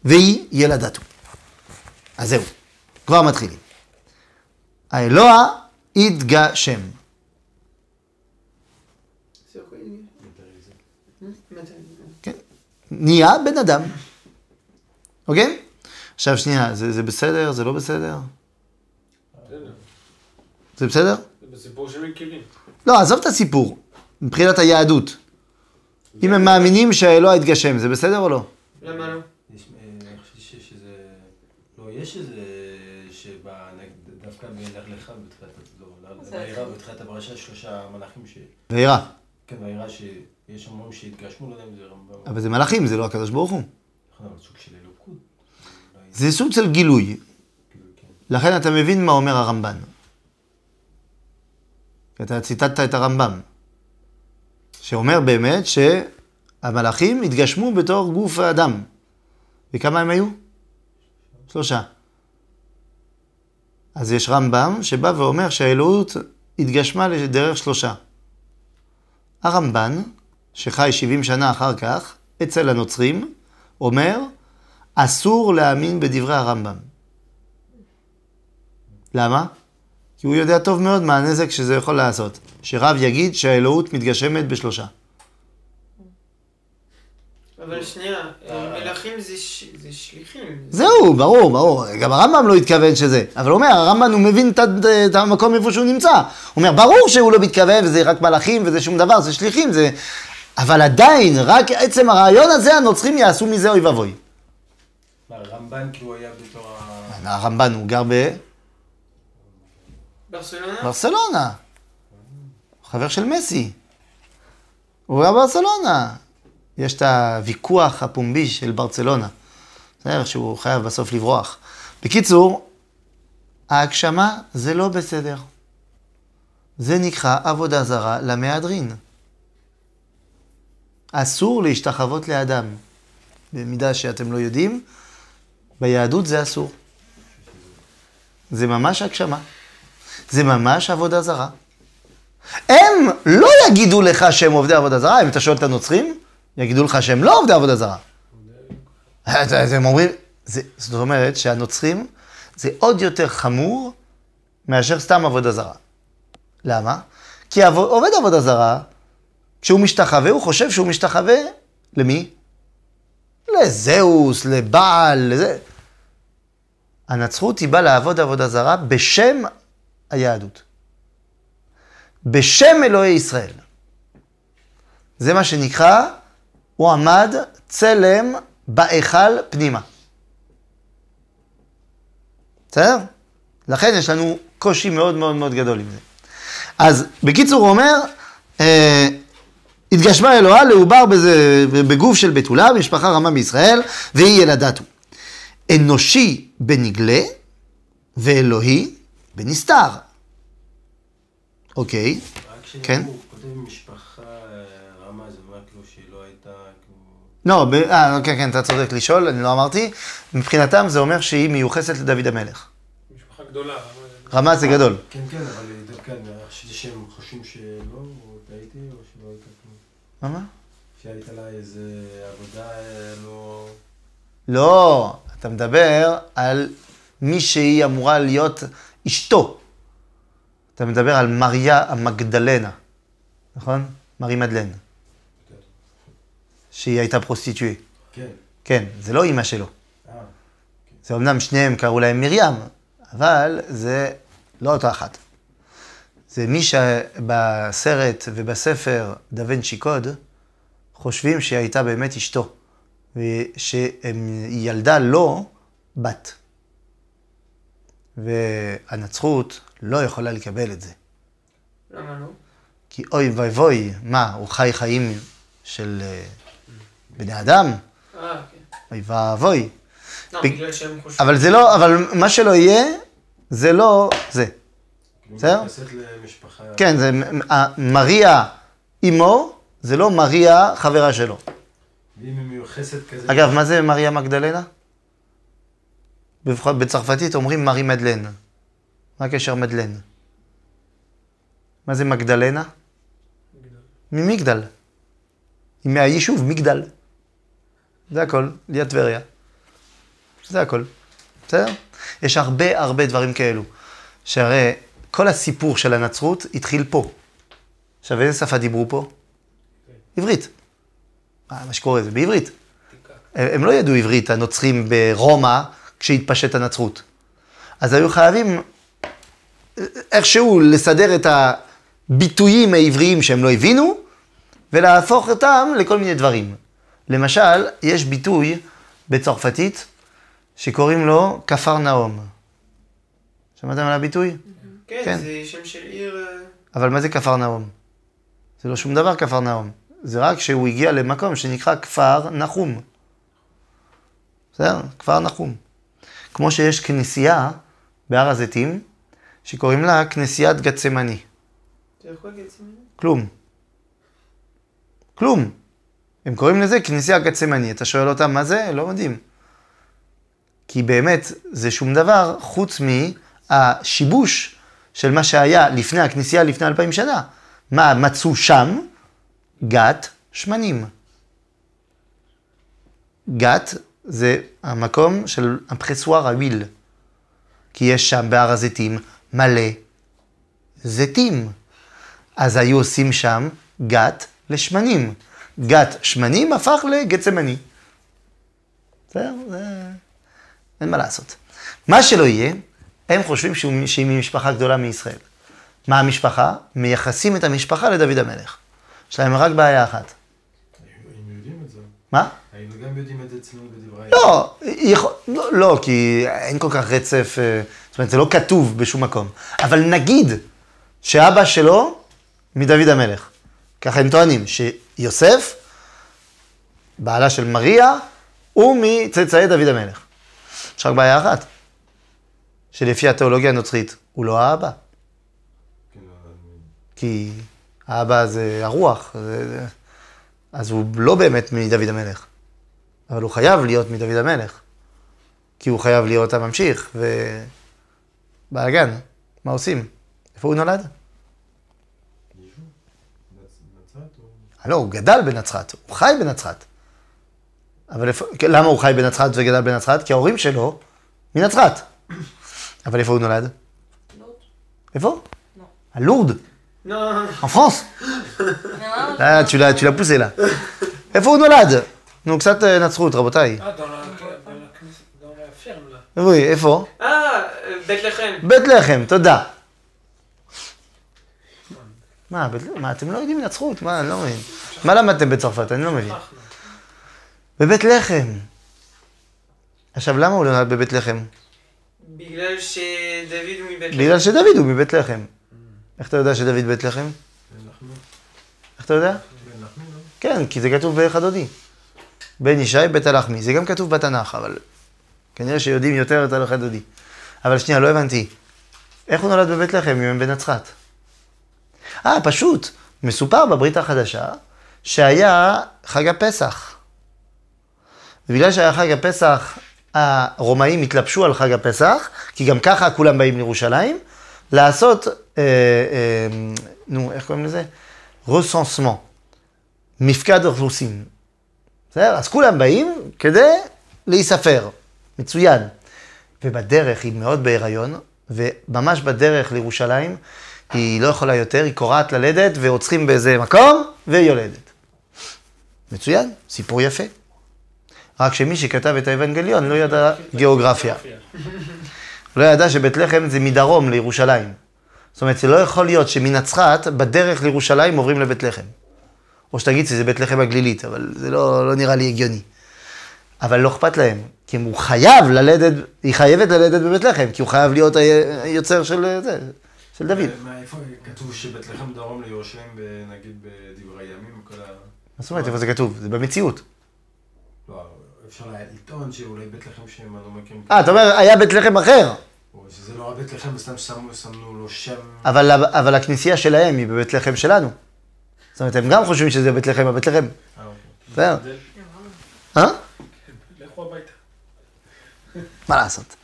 והיא ילדתו. אז זהו, כבר מתחילים. האלוה התגשם. C'est quoi il כן. נהיה בן אדם. אוקיי? עכשיו שנייה, זה, זה בסדר? זה לא בסדר? זה בסדר? זה בסיפור שמכירים. לא, עזוב את הסיפור. מבחינת היהדות. אם הם מאמינים שהאלוה התגשם, זה בסדר או לא? למה לא? יש, אה, אני חושב שיש איזה... לא, יש איזה... שדווקא בלך לך בתחילת התורה, וירא בתחילת הפרשה שלושה מלאכים ש... וירא. כן, וירא שיש אומרים שהתגשמו, לא יודע אם זה רמב"ם. אבל זה מלאכים, זה לא הקדוש ברוך הוא. נכון, אבל סוג של אלוקות. זה סוג של גילוי. לכן אתה מבין מה אומר הרמב"ן. אתה ציטטת את הרמב"ם. שאומר באמת שהמלאכים התגשמו בתור גוף האדם. וכמה הם היו? שלושה. אז יש רמב"ם שבא ואומר שהאלוהות התגשמה לדרך שלושה. הרמב"ן, שחי שבעים שנה אחר כך, אצל הנוצרים, אומר, אסור להאמין בדברי הרמב"ם. למה? כי הוא יודע טוב מאוד מה הנזק שזה יכול לעשות. שרב יגיד שהאלוהות מתגשמת בשלושה. אבל שנייה, מלאכים זה ש- זה שליחים. זהו, ברור, ברור. גם הרמב"ם לא התכוון שזה. אבל הוא אומר, הרמב"ם הוא מבין את, את המקום איפה שהוא נמצא. הוא אומר, ברור שהוא לא מתכוון וזה רק מלאכים וזה שום דבר, זה שליחים, זה... אבל עדיין, רק עצם הרעיון הזה, הנוצרים יעשו מזה אוי ואבוי. מה, הרמב"ן כאילו היה בתור ה... הרמב"ן הוא גר ברצלונה? בברסלונה. חבר של מסי. הוא גר בברסלונה. יש את הוויכוח הפומבי של ברצלונה. בסדר, שהוא חייב בסוף לברוח. בקיצור, ההגשמה זה לא בסדר. זה נקרא עבודה זרה למהדרין. אסור להשתחוות לאדם. במידה שאתם לא יודעים, ביהדות זה אסור. זה ממש הגשמה. זה ממש עבודה זרה. הם לא יגידו לך שהם עובדי עבודה זרה, אם אתה שואל את הנוצרים, יגידו לך שהם לא עובדי עבודה זרה. הם אומרים, זה, זאת אומרת שהנוצרים זה עוד יותר חמור מאשר סתם עבודה זרה. למה? כי עובד עבודה זרה, כשהוא משתחווה, הוא חושב שהוא משתחווה למי? לזהוס, לבעל, לזה. הנצרות היא באה לעבוד עבודה זרה בשם היהדות. בשם אלוהי ישראל. זה מה שנקרא, הוא עמד צלם בהיכל פנימה. בסדר? לכן יש לנו קושי מאוד מאוד מאוד גדול עם זה. אז בקיצור הוא אומר, אה, התגשמה אלוהה לעובר בזה, בגוף של בתולה, משפחה רמה בישראל, והיא ילדתו. אנושי בנגלה, ואלוהי בנסתר. אוקיי, כן? הוא כותב משפחה רמה, זה אומר כאילו שהיא לא הייתה... לא, ב... אה, כן, כן, אתה צודק לשאול, אני לא אמרתי. מבחינתם זה אומר שהיא מיוחסת לדוד המלך. משפחה גדולה. רמה זה גדול. כן, כן, אבל דווקא אני חשבתי שהם חושבים שלא, או טעיתי, או שלא הייתה כלום. מה? מה? שהייתה לה איזה עבודה לא... לא, אתה מדבר על מי שהיא אמורה להיות אשתו. אתה מדבר על מריה המגדלנה, נכון? מרי מדלן. שהיא הייתה פרוסטיטואית. כן. כן, זה לא אימא שלו. אה. זה אמנם שניהם קראו להם מרים, אבל זה לא אותה אחת. זה מי שבסרט ובספר דא וינצ'י קוד חושבים שהיא הייתה באמת אשתו, ושהיא ילדה לו בת. והנצרות לא יכולה לקבל את זה. למה לא? כי אוי ואבוי, מה, הוא חי חיים של בני אדם? אה, כן. אוי ואבוי. לא, ב- בגלל שהם חושבים. אבל זה לא, אבל מה שלא יהיה, זה לא זה. בסדר? מתייחסת למשפחה... כן, זה מריה אמו, זה לא מריה חברה שלו. ואם היא מיוחסת כזה... אגב, מה זה מריה מגדלנה? בבח- בצרפתית אומרים מרי מדלן. מה הקשר מדלן? מה זה מגדלנה? ממגדל. היא מהיישוב מגדל. זה הכל, ליד טבריה. זה הכל. בסדר? יש הרבה הרבה דברים כאלו. שהרי כל הסיפור של הנצרות התחיל פה. עכשיו, איזה שפה דיברו פה? עברית. מה שקורה זה בעברית. הם לא ידעו עברית, הנוצרים ברומא, כשהתפשט הנצרות. אז היו חייבים איכשהו לסדר את הביטויים העבריים שהם לא הבינו, ולהפוך אותם לכל מיני דברים. למשל, יש ביטוי בצרפתית שקוראים לו כפר נאום. שמעתם על הביטוי? כן, כן. זה שם של עיר... אבל מה זה כפר נאום? זה לא שום דבר כפר נאום. זה רק שהוא הגיע למקום שנקרא כפר נחום. בסדר? כפר נחום. כמו שיש כנסייה בהר הזיתים, שקוראים לה כנסיית גצמני. אתה יכול גצמני? כלום. כלום. הם קוראים לזה כנסייה גצמני. אתה שואל אותם מה זה? לא יודעים. כי באמת זה שום דבר חוץ מהשיבוש של מה שהיה לפני הכנסייה לפני אלפיים שנה. מה מצאו שם? גת שמנים. גת זה המקום של הפרסואר הוויל. כי יש שם בהר הזיתים מלא זיתים. אז היו עושים שם גת לשמנים. גת שמנים הפך לגצמני. בסדר? זה... אין מה לעשות. מה שלא יהיה, הם חושבים שהיא ממשפחה גדולה מישראל. מה המשפחה? מייחסים את המשפחה לדוד המלך. יש להם רק בעיה אחת. היינו יודעים את זה. מה? היינו גם יודעים את זה אצלנו בדברי... לא, יכול, לא, לא, כי אין כל כך רצף, זאת אומרת, זה לא כתוב בשום מקום. אבל נגיד שאבא שלו מדוד המלך. ככה הם טוענים, שיוסף, בעלה של מריה, הוא מצאצאי דוד המלך. יש רק בעיה אחת, שלפי התיאולוגיה הנוצרית, הוא לא האבא. כי האבא זה הרוח, זה... אז הוא לא באמת מדוד המלך. אבל הוא חייב להיות מדוד המלך. כי הוא חייב להיות הממשיך, ובאגן, מה עושים? איפה הוא נולד? לא, הוא גדל בנצרת, הוא חי בנצרת. אבל איפה, למה הוא חי בנצרת וגדל בנצרת? כי ההורים שלו מנצרת. אבל איפה הוא נולד? לורד. איפה? לא. à Lourdes, Non. en France. Non. Ah, tu l'as, tu l'as poussé là. איפה הוא נולד? נו, קצת נצרות, רבותיי. אה, dans la- dans la knis- dans la ferme, là. אוי, איפה? Ah, euh, Bethléem. בית לחם, תודה. מה, בית לחם? מה, אתם לא יודעים נצרות? מה, אני לא מבין. מה למדתם בצרפת? אני לא מבין. אנחנו. בבית לחם. עכשיו, למה הוא נולד בבית לחם? בגלל שדוד הוא מבית לחם. בגלל שדוד הוא מבית לחם. איך אתה יודע שדוד בית לחם? בן לחמי. איך אתה יודע? בן לחמי, לא? כן, כי זה כתוב בחדודי. בן ישי בית הלחמי. זה גם כתוב בתנ"ך, אבל כנראה שיודעים יותר את הלכה דודי. אבל שנייה, לא הבנתי. איך הוא נולד בבית לחם אם הם בנצרת? אה, פשוט. מסופר בברית החדשה שהיה חג הפסח. ובגלל שהיה חג הפסח, הרומאים התלבשו על חג הפסח, כי גם ככה כולם באים לירושלים, לעשות, אה, אה, נו, איך קוראים לזה? רסנסמן. מפקד אוכלוסין. בסדר? אז כולם באים כדי להיספר. מצוין. ובדרך היא מאוד בהיריון, וממש בדרך לירושלים, היא לא יכולה יותר, היא קורעת ללדת, ועוצרים באיזה מקום, והיא יולדת. מצוין, סיפור יפה. רק שמי שכתב את האבנגליון לא ידע גיאוגרפיה. לא ידע שבית לחם זה מדרום לירושלים. זאת אומרת, זה לא יכול להיות שמנצרת, בדרך לירושלים עוברים לבית לחם. או שתגיד שזה בית לחם הגלילית, אבל זה לא, לא נראה לי הגיוני. אבל לא אכפת להם, כי הוא חייב ללדת, היא חייבת ללדת בבית לחם, כי הוא חייב להיות היוצר של זה, של דוד. מה, איפה כתוב שבית לחם דרום לירושלים, נגיד בדברי ימים, כל ה... מה זאת אומרת, איפה זה כתוב? זה במציאות. לא, אפשר לטעון שאולי בית לחם שהם לא מכירים... אה, אתה אומר, היה בית לחם אחר. או שזה לא הבית לחם, סתם שמו, שמנו לו שם... אבל, אבל הכנסייה שלהם היא בבית לחם שלנו. זאת אומרת, הם גם חושבים שזה בית לחם, הבית לחם. אה, אוקיי. בסדר. אה? לכו הביתה. מה לעשות?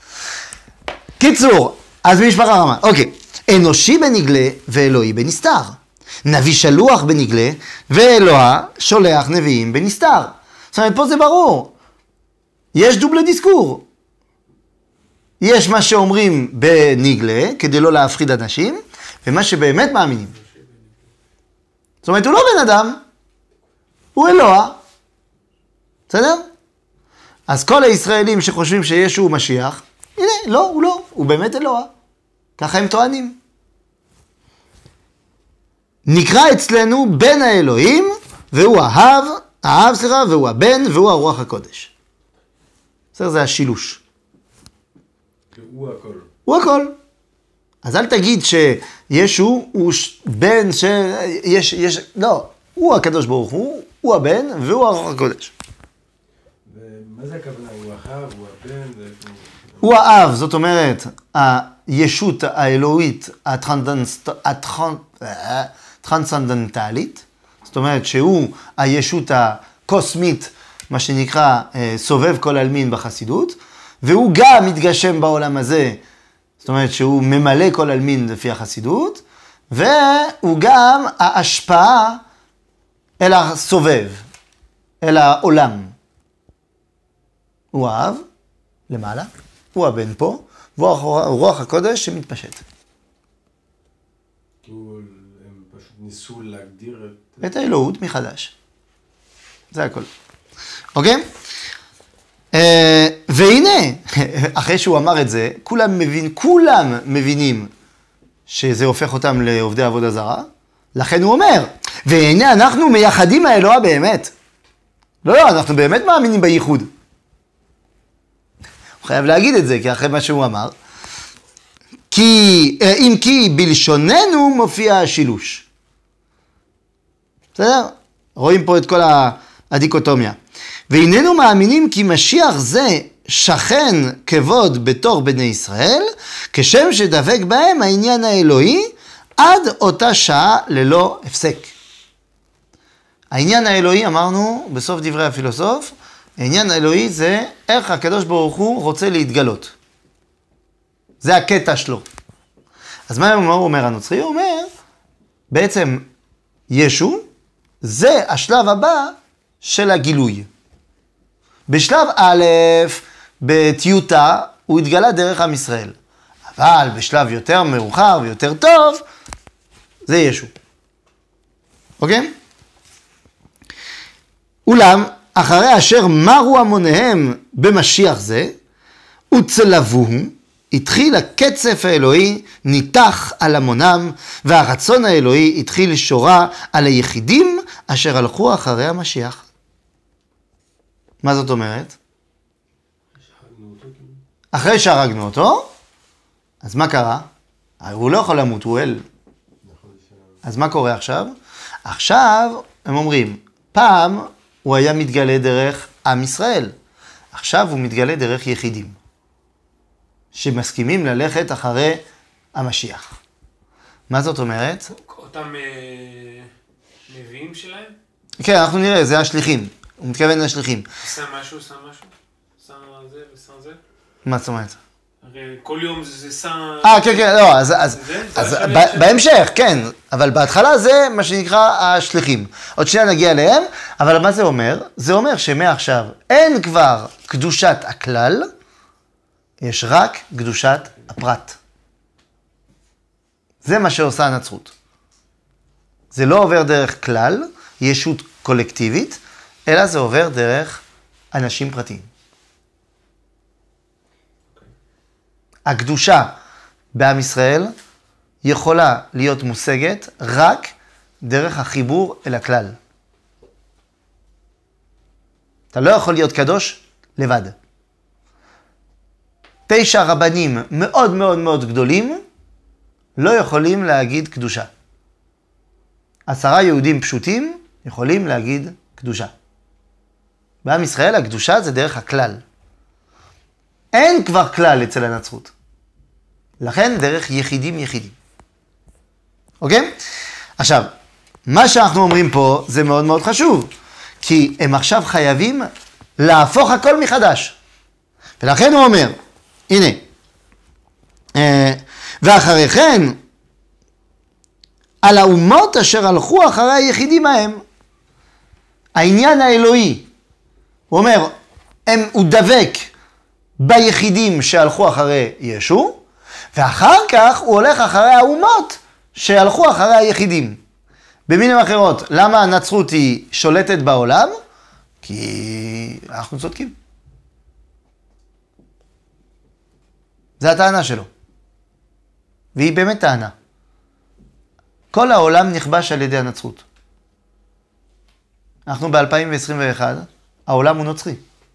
קיצור, אז משפחה רמה. אוקיי. אנושי בנגלה ואלוהי בנסתר. נביא שלוח בנגלה ואלוה שולח נביאים בנסתר. זאת אומרת, פה זה ברור. יש דובלה דיסקור. יש מה שאומרים בניגלה, כדי לא להפחיד אנשים, ומה שבאמת מאמינים. זאת אומרת, הוא לא בן אדם, הוא אלוה. בסדר? אז כל הישראלים שחושבים שישו הוא משיח, הנה, לא, הוא לא, הוא באמת אלוה. ככה הם טוענים. נקרא אצלנו בן האלוהים, והוא האב, האב סליחה, והוא הבן, והוא הרוח הקודש. בסדר, זה השילוש. הוא הכל. הוא הכל. אז אל תגיד שישו הוא בן ש... יש, יש... לא, הוא הקדוש ברוך הוא, הוא הבן, והוא הרוח הקודש. ומה זה הכוונה? הוא האב, הוא הבן? זה... הוא האב, זאת אומרת, הישות האלוהית הטרנסצנדנטלית, זאת אומרת שהוא הישות הקוסמית, מה שנקרא סובב כל עלמין בחסידות, והוא גם מתגשם בעולם הזה, זאת אומרת שהוא ממלא כל עלמין לפי החסידות, והוא גם ההשפעה אל הסובב, אל העולם. הוא האב, למעלה, הוא הבן פה, והוא רוח הקודש שמתפשט. הם פשוט ניסו להגדיר את... את האלוהות מחדש. זה הכל. אוקיי? והנה, אחרי שהוא אמר את זה, כולם מבין, כולם מבינים שזה הופך אותם לעובדי עבודה זרה, לכן הוא אומר, והנה אנחנו מייחדים האלוה באמת. לא, לא, אנחנו באמת מאמינים בייחוד. הוא חייב להגיד את זה, כי אחרי מה שהוא אמר, כי, אם כי בלשוננו מופיע השילוש. בסדר? רואים פה את כל הדיקוטומיה. והננו מאמינים כי משיח זה שכן כבוד בתור בני ישראל, כשם שדבק בהם העניין האלוהי, עד אותה שעה ללא הפסק. העניין האלוהי, אמרנו בסוף דברי הפילוסוף, העניין האלוהי זה איך הקדוש ברוך הוא רוצה להתגלות. זה הקטע שלו. אז מה הוא אומר הנוצרי? הוא אומר, בעצם ישו, זה השלב הבא של הגילוי. בשלב א', בטיוטה, הוא התגלה דרך עם ישראל. אבל בשלב יותר מאוחר ויותר טוב, זה ישו. אוקיי? אולם, אחרי אשר מרו המוניהם במשיח זה, וצלבוהו, התחיל הקצף האלוהי, ניתח על המונם, והרצון האלוהי התחיל שורה על היחידים אשר הלכו אחרי המשיח. מה זאת אומרת? אחרי שהרגנו אותו, אז מה קרה? הוא לא יכול למות, הוא אל. אז מה קורה עכשיו? עכשיו הם אומרים, פעם הוא היה מתגלה דרך עם ישראל, עכשיו הוא מתגלה דרך יחידים, שמסכימים ללכת אחרי המשיח. מה זאת אומרת? אותם נביאים שלהם? כן, אנחנו נראה, זה השליחים. הוא מתכוון לשליחים. שם משהו, שם משהו? שם זה ושם זה? מה זאת אומרת? הרי כל יום זה שם... אה, כן, כן, לא, אז, אז, זה? אז זה ב- בהמשך, כן, אבל בהתחלה זה מה שנקרא השליחים. עוד שנייה נגיע אליהם, אבל מה זה אומר? זה אומר שמעכשיו אין כבר קדושת הכלל, יש רק קדושת הפרט. זה מה שעושה הנצרות. זה לא עובר דרך כלל, ישות קולקטיבית, אלא זה עובר דרך אנשים פרטיים. הקדושה בעם ישראל יכולה להיות מושגת רק דרך החיבור אל הכלל. אתה לא יכול להיות קדוש לבד. תשע רבנים מאוד מאוד מאוד גדולים לא יכולים להגיד קדושה. עשרה יהודים פשוטים יכולים להגיד קדושה. בעם ישראל הקדושה זה דרך הכלל. אין כבר כלל אצל הנצרות. לכן דרך יחידים יחידים. אוקיי? עכשיו, מה שאנחנו אומרים פה זה מאוד מאוד חשוב, כי הם עכשיו חייבים להפוך הכל מחדש. ולכן הוא אומר, הנה, ואחרי כן, על האומות אשר הלכו אחרי היחידים ההם, העניין האלוהי, הוא אומר, הם, הוא דבק ביחידים שהלכו אחרי ישו, ואחר כך הוא הולך אחרי האומות שהלכו אחרי היחידים. במילים אחרות, למה הנצרות היא שולטת בעולם? כי אנחנו צודקים. זה הטענה שלו. והיא באמת טענה. כל העולם נכבש על ידי הנצרות. אנחנו ב-אלפיים עשרים ואחת, העולם הוא נוצרי.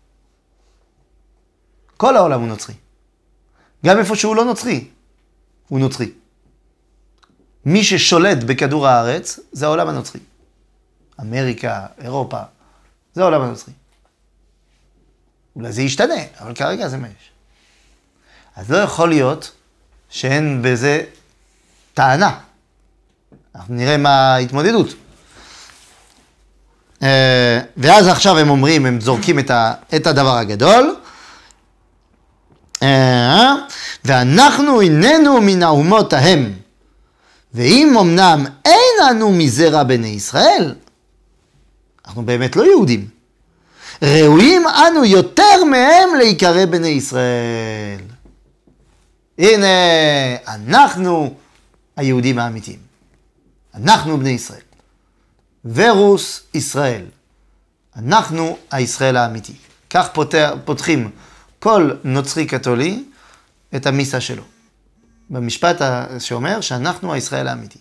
כל העולם הוא נוצרי. גם איפה שהוא לא נוצרי, הוא נוצרי. מי ששולט בכדור הארץ, זה העולם הנוצרי. אמריקה, אירופה, זה העולם הנוצרי. אולי זה ישתנה, אבל כרגע זה מה יש. אז לא יכול להיות שאין בזה טענה. אנחנו נראה מה ההתמודדות. ואז עכשיו הם אומרים, הם זורקים את הדבר הגדול. ואנחנו איננו מן האומות ההם. ואם אמנם אין אנו מזרע בני ישראל, אנחנו באמת לא יהודים. ראויים אנו יותר מהם להיקרא בני ישראל. הנה, אנחנו היהודים האמיתיים. אנחנו בני ישראל. ורוס ישראל. אנחנו הישראל האמיתי. כך פותח, פותחים כל נוצרי קתולי את המיסה שלו. במשפט שאומר שאנחנו הישראל האמיתי.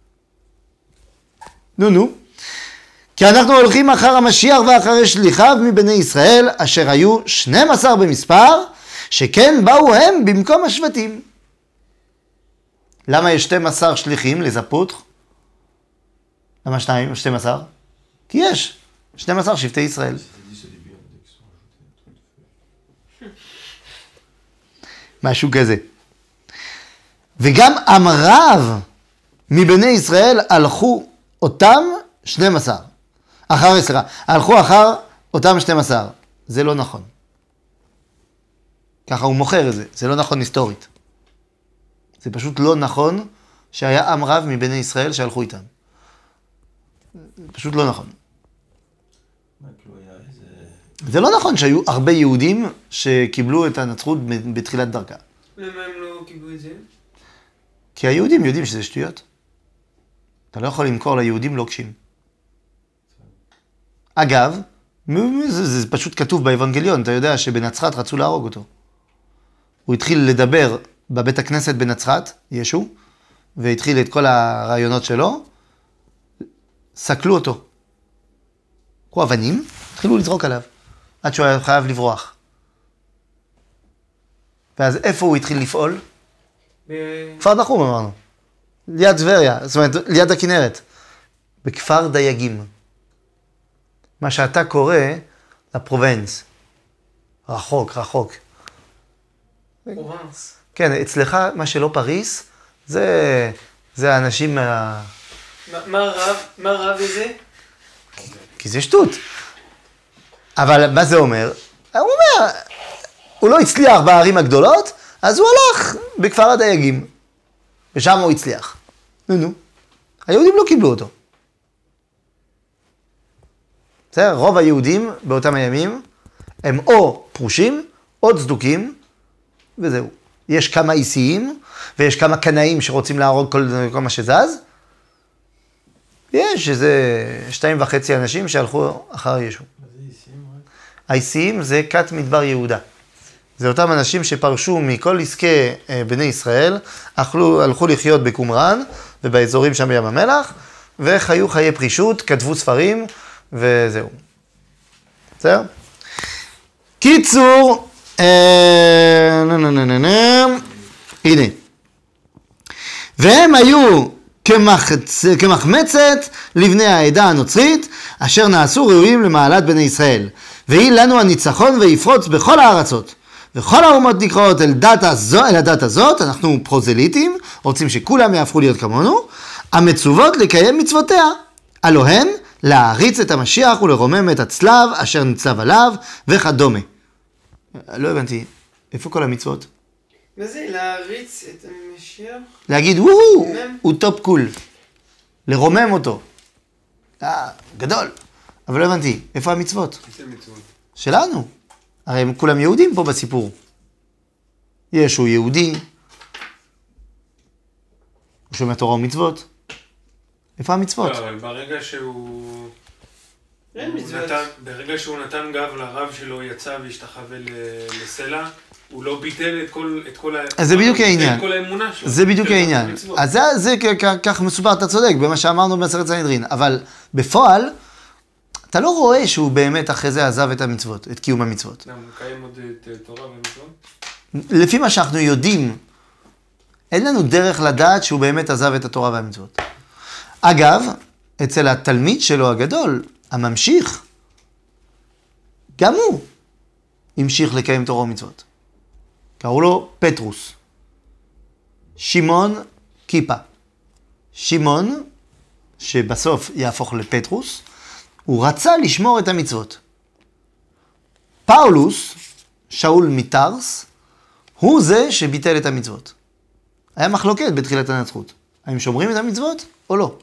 נו נו. כי אנחנו הולכים אחר המשיח ואחרי שליחיו מבני ישראל, אשר היו שנים עשר במספר, שכן באו הם במקום השבטים. למה יש שנים עשר שליחים לזפות? למה שניים או שנים עשר? כי יש שנים עשר שבטי ישראל. משהו כזה. וגם עם רב מבני ישראל הלכו אותם שנים עשר. אחר סליחה, הלכו אחר אותם שנים עשר. זה לא נכון. ככה הוא מוכר את זה. זה לא נכון היסטורית. זה פשוט לא נכון שהיה עם רב מבני ישראל שהלכו איתם. זה פשוט לא נכון. זה לא נכון שהיו הרבה יהודים שקיבלו את הנצרות בתחילת דרכה. למה הם לא קיבלו את זה? כי היהודים יודעים שזה שטויות. אתה לא יכול למכור ליהודים לוקשים. אגב, זה, זה פשוט כתוב באבנגליון, אתה יודע שבנצרת רצו להרוג אותו. הוא התחיל לדבר בבית הכנסת בנצרת, ישו, והתחיל את כל הרעיונות שלו, סקלו אותו. קחו אבנים, התחילו לזרוק עליו, עד שהוא היה חייב לברוח. ואז איפה הוא התחיל לפעול? ב... כפר נחום אמרנו. ליד טבריה, זאת אומרת, ליד הכנרת. בכפר דייגים. מה שאתה קורא לפרובנס. רחוק, רחוק. פרובנס. כן, אצלך, מה שלא פריס, זה, זה האנשים מה... מה, מה רב, מה רב בזה? כי זה שטות. אבל מה זה אומר? הוא אומר, הוא לא הצליח בערים הגדולות, אז הוא הלך בכפר הדייגים. ושם הוא הצליח. נו, נו. היהודים לא קיבלו אותו. בסדר? רוב היהודים באותם הימים הם או פרושים, או צדוקים, וזהו. יש כמה איסיים, ויש כמה קנאים שרוצים להרוג כל, כל מה שזז. יש איזה שתיים וחצי אנשים שהלכו אחר ישו. מה זה איסיים רק? האיסיים זה כת מדבר יהודה. זה אותם אנשים שפרשו מכל עסקי בני ישראל, הלכו, הלכו לחיות בקומראן ובאזורים שם בים המלח, וחיו חיי פרישות, כתבו ספרים, וזהו. בסדר? קיצור, אה, נה, נה, נה, נה, נה. הנה. והם היו כמחצ... כמחמצת לבני העדה הנוצרית, אשר נעשו ראויים למעלת בני ישראל. והיא לנו הניצחון ויפרוץ בכל הארצות. וכל האומות נקראות אל, דת הזו, אל הדת הזאת, אנחנו פרוזליטים, רוצים שכולם יהפכו להיות כמונו, המצוות לקיים מצוותיה. הלא הן להעריץ את המשיח ולרומם את הצלב אשר נצלב עליו וכדומה. לא הבנתי, איפה כל המצוות? מה זה? להריץ את המשיח? להגיד, וואו, הוא טופ קול. לרומם אותו. אה, גדול. אבל לא הבנתי, איפה המצוות? איזה מצוות? שלנו. הרי הם כולם יהודים פה בסיפור. ישו יהודי, הוא שומע תורה ומצוות. איפה המצוות? לא, אבל ברגע שהוא... אין הוא מצוות. נתן- ברגע שהוא נתן גב לרב שלו, יצא והשתחווה ל- לסלע, הוא לא ביטל את כל... את כל ה- אז זה בדיוק ביטל העניין. את כל האמונה שלו. זה בדיוק של העניין. המצוות. אז זה, זה כ- כ- כך מסופר, אתה צודק, במה שאמרנו במסכת סנהדרין. אבל בפועל, אתה לא רואה שהוא באמת אחרי זה עזב את המצוות, את קיום המצוות. למה, הוא מקיים עוד את אה, תורה ומצוות? לפי מה שאנחנו יודעים, אין לנו דרך לדעת שהוא באמת עזב את התורה והמצוות. אגב, אצל התלמיד שלו הגדול, הממשיך, גם הוא המשיך לקיים תורה ומצוות. קראו לו פטרוס. שמעון כיפה. שמעון, שבסוף יהפוך לפטרוס, הוא רצה לשמור את המצוות. פאולוס, שאול מטרס, הוא זה שביטל את המצוות. היה מחלוקת בתחילת הנצרות. האם שומרים את המצוות או לא?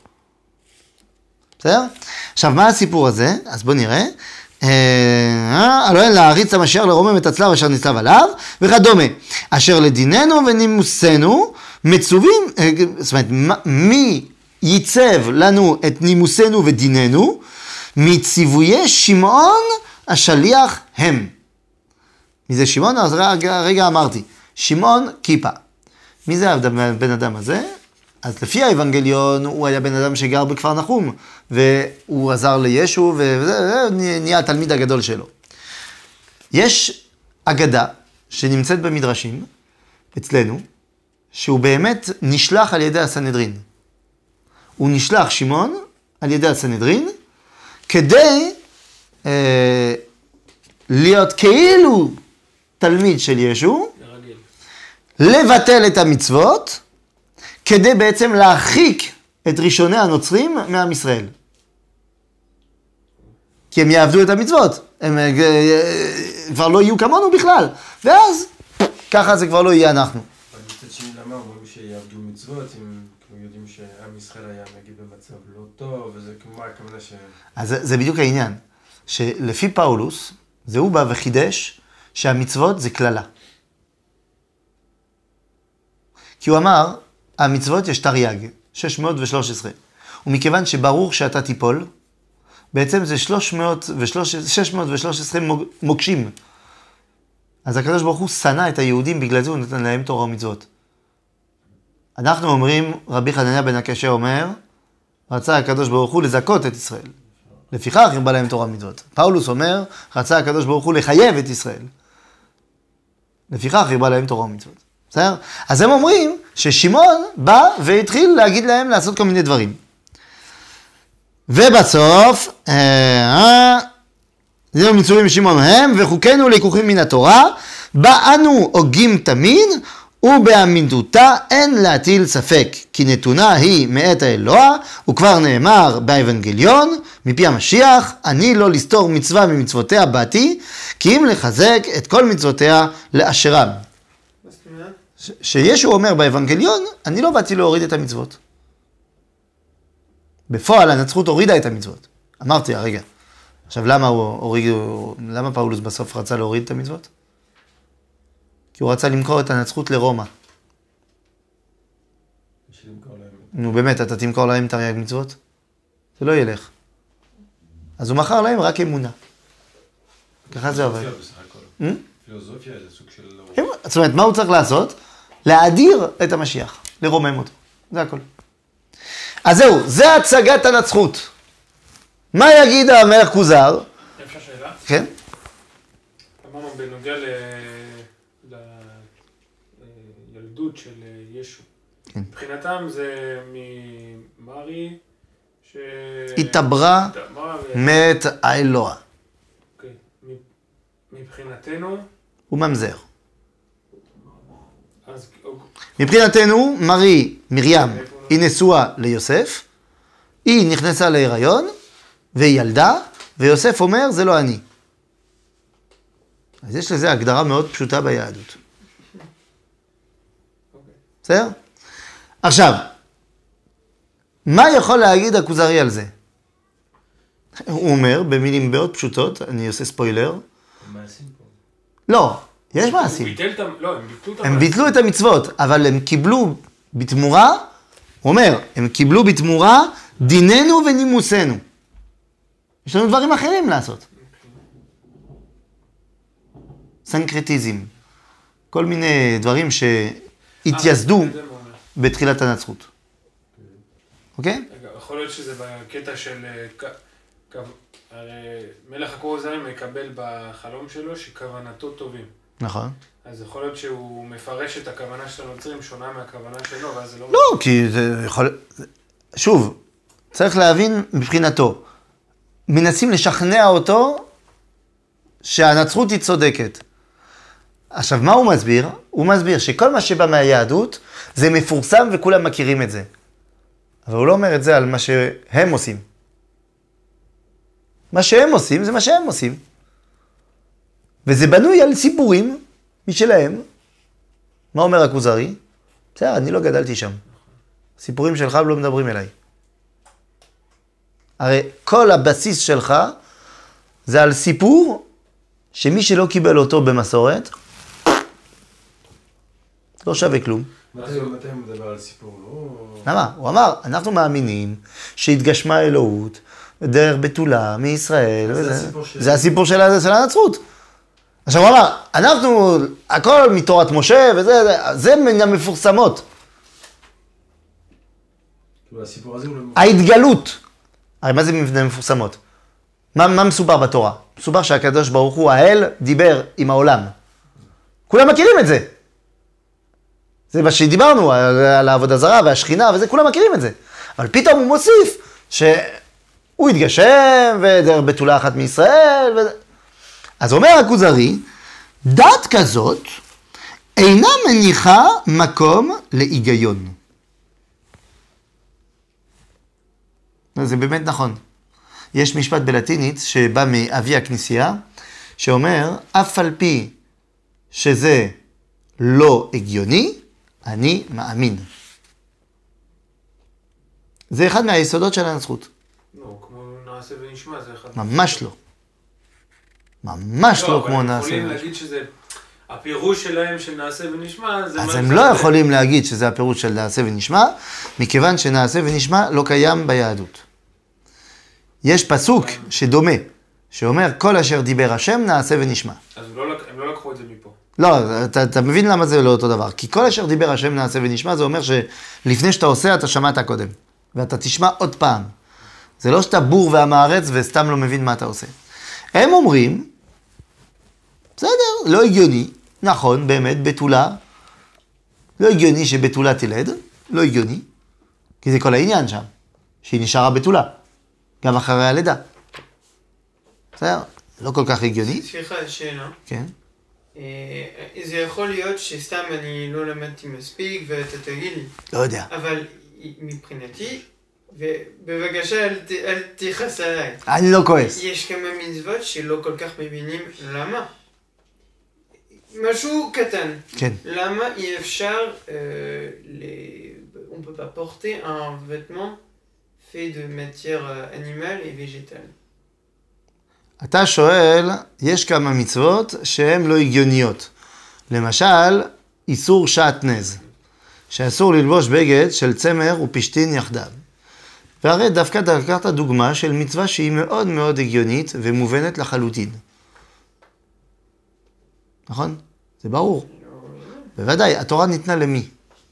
בסדר? עכשיו, מה הסיפור הזה? אז בוא נראה. הלא אין להעריץ המשיח לרומם את הצלב אשר נצלב עליו, וכדומה. אשר לדיננו ונימוסנו מצווים, זאת אומרת, מי ייצב לנו את נימוסנו ודיננו? מציוויי שמעון השליח הם. מי זה שמעון? אז רגע, רגע אמרתי, שמעון כיפה. מי זה הבן אדם הזה? אז לפי האבנגליון הוא היה בן אדם שגר בכפר נחום, והוא עזר לישו, וזה נהיה התלמיד הגדול שלו. יש אגדה שנמצאת במדרשים, אצלנו, שהוא באמת נשלח על ידי הסנהדרין. הוא נשלח, שמעון, על ידי הסנהדרין, כדי אה, להיות כאילו תלמיד של ישו, הרגיל. לבטל את המצוות, כדי בעצם להרחיק את ראשוני הנוצרים מעם ישראל. כי הם יעבדו את המצוות, הם אה, אה, כבר לא יהיו כמונו בכלל, ואז ככה זה כבר לא יהיה אנחנו. אבל מצד שני, למה אומרים שיעבדו מצוות, אם כאילו יודעים שעם ישראל היה נגיד במצב לא טוב, וזה כמו הכוונה ש... אז זה, זה בדיוק העניין, שלפי פאולוס, זה הוא בא וחידש שהמצוות זה כללה. כי הוא אמר, המצוות יש תרי"ג, שש מאות ושלוש עשרה. ומכיוון שברור שאתה תיפול, בעצם זה שש מאות ושלוש עשרה מוקשים. אז הקדוש ברוך הוא שנא את היהודים, בגלל זה הוא נתן להם תורה ומצוות. אנחנו אומרים, רבי חנניה בן הקשה אומר, רצה הקדוש ברוך הוא לזכות את ישראל. לפיכך הרבה להם תורה ומצוות. פאולוס אומר, רצה הקדוש ברוך הוא לחייב את ישראל. לפיכך הרבה להם תורה ומצוות. בסדר? אז הם אומרים ששמעון בא והתחיל להגיד להם לעשות כל מיני דברים. ובסוף, אה, זהו מצווים שמעון הם, וחוקינו לקוחים מן התורה, באנו הוגים תמיד, ובאמינותה אין להטיל ספק, כי נתונה היא מאת האלוה, וכבר נאמר באבנגליון, מפי המשיח, אני לא לסתור מצווה ממצוותיה באתי, כי אם לחזק את כל מצוותיה לאשרם. מה זאת אומרת? ש- שישו אומר באבנגליון, אני לא באתי להוריד את המצוות. בפועל הנצרות הורידה את המצוות. אמרתי, הרגע. עכשיו למה הוא הוריד, למה פאולוס בסוף רצה להוריד את המצוות? כי הוא רצה למכור את הנצרות לרומא. בשביל למכור להם. נו באמת, אתה תמכור להם תרי"ג מצוות? זה לא ילך. אז הוא מכר להם רק אמונה. ככה זה עובד. פילוסופיה בסך הכל. אה? פילוסופיה זה סוג של... זאת אומרת, מה הוא צריך לעשות? להאדיר את המשיח, לרומם אותו. זה הכל. אז זהו, זה הצגת הנצחות. מה יגיד המלך כוזר? אפשר שאלה? כן? אמרנו בנוגע ל... לילדות של ישו. כן. מבחינתם זה ממרי ש... התעברה התעברה ו- מת האלוה. אוקיי. מ- מבחינתנו, הוא ממזר. אז מבחינתנו, מרי, מרים, היא נשואה ליוסף, היא נכנסה להיריון, והיא ילדה, ויוסף אומר, זה לא אני. אז יש לזה הגדרה מאוד פשוטה ביהדות. בסדר? עכשיו, מה יכול להגיד הכוזרי על זה? הוא אומר, במילים מאוד פשוטות, אני עושה ספוילר, מעשים פה. לא, יש הוא מעשים. ביטל את ה... לא, הם ביטלו את הם המעשים. ביטלו את המצוות, אבל הם קיבלו בתמורה, הוא אומר, הם קיבלו בתמורה דיננו ונימוסנו. יש לנו דברים אחרים לעשות. סנקרטיזם. כל מיני דברים שהתייסדו אה, זה מה הוא אומר. בתחילת הנצרות. אוקיי? רגע, יכול להיות שזה בקטע של... אה, כ- כו- הרי מלך הכרוזרים מקבל בחלום שלו שכוונתו טובים. נכון. אז יכול להיות שהוא מפרש את הכוונה של הנוצרים שונה מהכוונה שלו, ואז זה לא... לא, כי זה יכול... שוב, צריך להבין מבחינתו. מנסים לשכנע אותו שהנצרות היא צודקת. עכשיו, מה הוא מסביר? הוא מסביר שכל מה שבא מהיהדות זה מפורסם וכולם מכירים את זה. אבל הוא לא אומר את זה על מה שהם עושים. מה שהם עושים זה מה שהם עושים. וזה בנוי על סיפורים משלהם. מה אומר הכוזרי? בסדר, אני לא גדלתי שם. סיפורים שלך לא מדברים אליי. הרי כל הבסיס שלך זה על סיפור שמי שלא קיבל אותו במסורת לא שווה כלום. מתי מתי הוא מדבר על סיפור? לא... למה? הוא אמר, אנחנו מאמינים שהתגשמה אלוהות דרך בתולה מישראל. זה וזה- הסיפור של- זה הסיפור של ה- של הנצרות. עכשיו הוא אמר, אנחנו, הכל מתורת משה וזה, זה- זה מן המפורסמות. כאילו, הסיפור הזה הוא לא... ההתגלות. הרי מה זה מן המפורסמות? מה, מה מסובר בתורה? מסובר שהקדוש ברוך הוא, האל, דיבר עם העולם. כולם מכירים את זה. זה מה שדיברנו, על, על העבודה זרה והשכינה וזה, כולם מכירים את זה. אבל פתאום הוא מוסיף שהוא התגשם ודרך בתולה אחת מישראל. ו... אז אומר הכוזרי, דת כזאת אינה מניחה מקום להיגיון. זה באמת נכון. יש משפט בלטינית שבא מאבי הכנסייה, שאומר, אף על פי שזה לא הגיוני, אני מאמין. זה אחד מהיסודות של הנצרות. לא, כמו נעשה ונשמע, זה אחד... ממש לא. ממש לא כמו אבל הם נעשה. יכולים להגיד שזה... הפירוש שלהם של נעשה ונשמע, זה... אז מה הם זה לא זה. יכולים להגיד שזה הפירוש של נעשה ונשמע, מכיוון שנעשה ונשמע לא קיים ביהדות. יש פסוק שדומה, שאומר, כל אשר דיבר השם נעשה ונשמע. אז הוא לא לק- הם לא לקחו את זה מפה. לא, אתה, אתה מבין למה זה לא אותו דבר. כי כל אשר דיבר השם נעשה ונשמע, זה אומר שלפני שאתה עושה, אתה שמעת קודם. ואתה תשמע עוד פעם. זה לא שאתה בור והמארץ וסתם לא מבין מה אתה עושה. הם אומרים, בסדר, לא הגיוני. נכון, באמת, בתולה. לא הגיוני שבתולה תלד. לא הגיוני. כי זה כל העניין שם. שהיא נשארה בתולה. גם אחרי הלידה. בסדר, לא כל כך הגיוני. סליחה, שאלה. כן. אה, זה יכול להיות שסתם אני לא למדתי מספיק ואתה תגיד לי, לא יודע. אבל מבחינתי, ובבקשה אל ת- אל תכעס עליי, אני לא כועס. יש כמה מצוות שלא כל כך מבינים למה. משהו קטן. כן. למה אי אפשר, euh, les... on peut pas porter un vêtement fait de matière euh, animale et végétale. אתה שואל, יש כמה מצוות שהן לא הגיוניות. למשל, איסור שעטנז, שאסור ללבוש בגד של צמר ופשתין יחדיו. והרי דווקא לקחת דוגמה של מצווה שהיא מאוד מאוד הגיונית ומובנת לחלוטין. נכון? זה ברור. בוודאי, התורה ניתנה למי?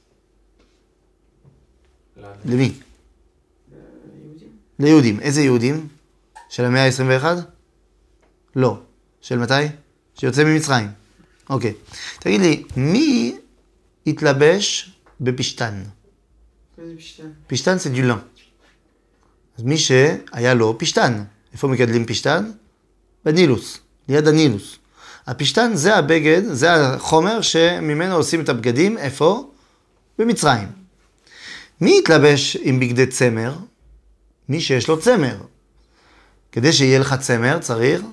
לנו. למי? יהודים. ליהודים. איזה יהודים? של המאה ה-עשרים ואחת? לא. של מתי? שיוצא ממצרים. אוקיי. תגיד לי, מי התלבש בפשתן? מה זה פשטן? פשתן זה דולן. אז מי שהיה לו פשתן. איפה מגדלים פשתן? בנילוס, ליד הנילוס. הפשתן זה הבגד, זה החומר שממנו עושים את הבגדים. איפה? במצרים. מי התלבש עם בגדי צמר? מי שיש לו צמר. כדי שיהיה לך צמר צריך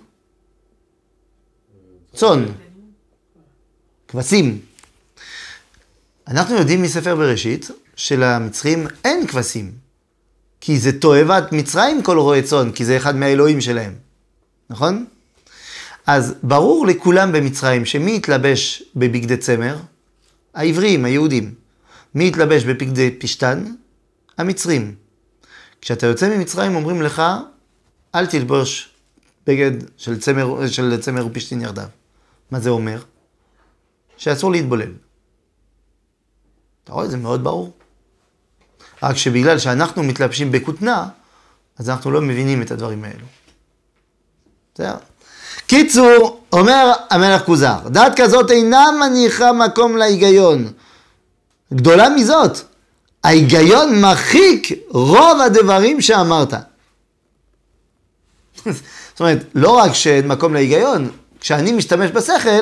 צאן, כבשים. אנחנו יודעים מספר בראשית שלמצרים אין כבשים, כי זה תועבת מצרים כל רועה צאן, כי זה אחד מהאלוהים שלהם, נכון? אז ברור לכולם במצרים שמי יתלבש בבגדי צמר? העבריים, היהודים. מי יתלבש בבגדי פשטן? המצרים. כשאתה יוצא ממצרים אומרים לך, אל תלבוש בגד של צמר, של צמר ופשטין יחדיו. מה זה אומר? שאסור להתבולל. אתה רואה, זה מאוד ברור. רק שבגלל שאנחנו מתלבשים בכותנה, אז אנחנו לא מבינים את הדברים האלו. בסדר? קיצור, אומר המלך כוזר, דעת כזאת אינה מניחה מקום להיגיון. גדולה מזאת, ההיגיון מרחיק רוב הדברים שאמרת. זאת אומרת, לא רק שאין מקום להיגיון, כשאני משתמש בשכל,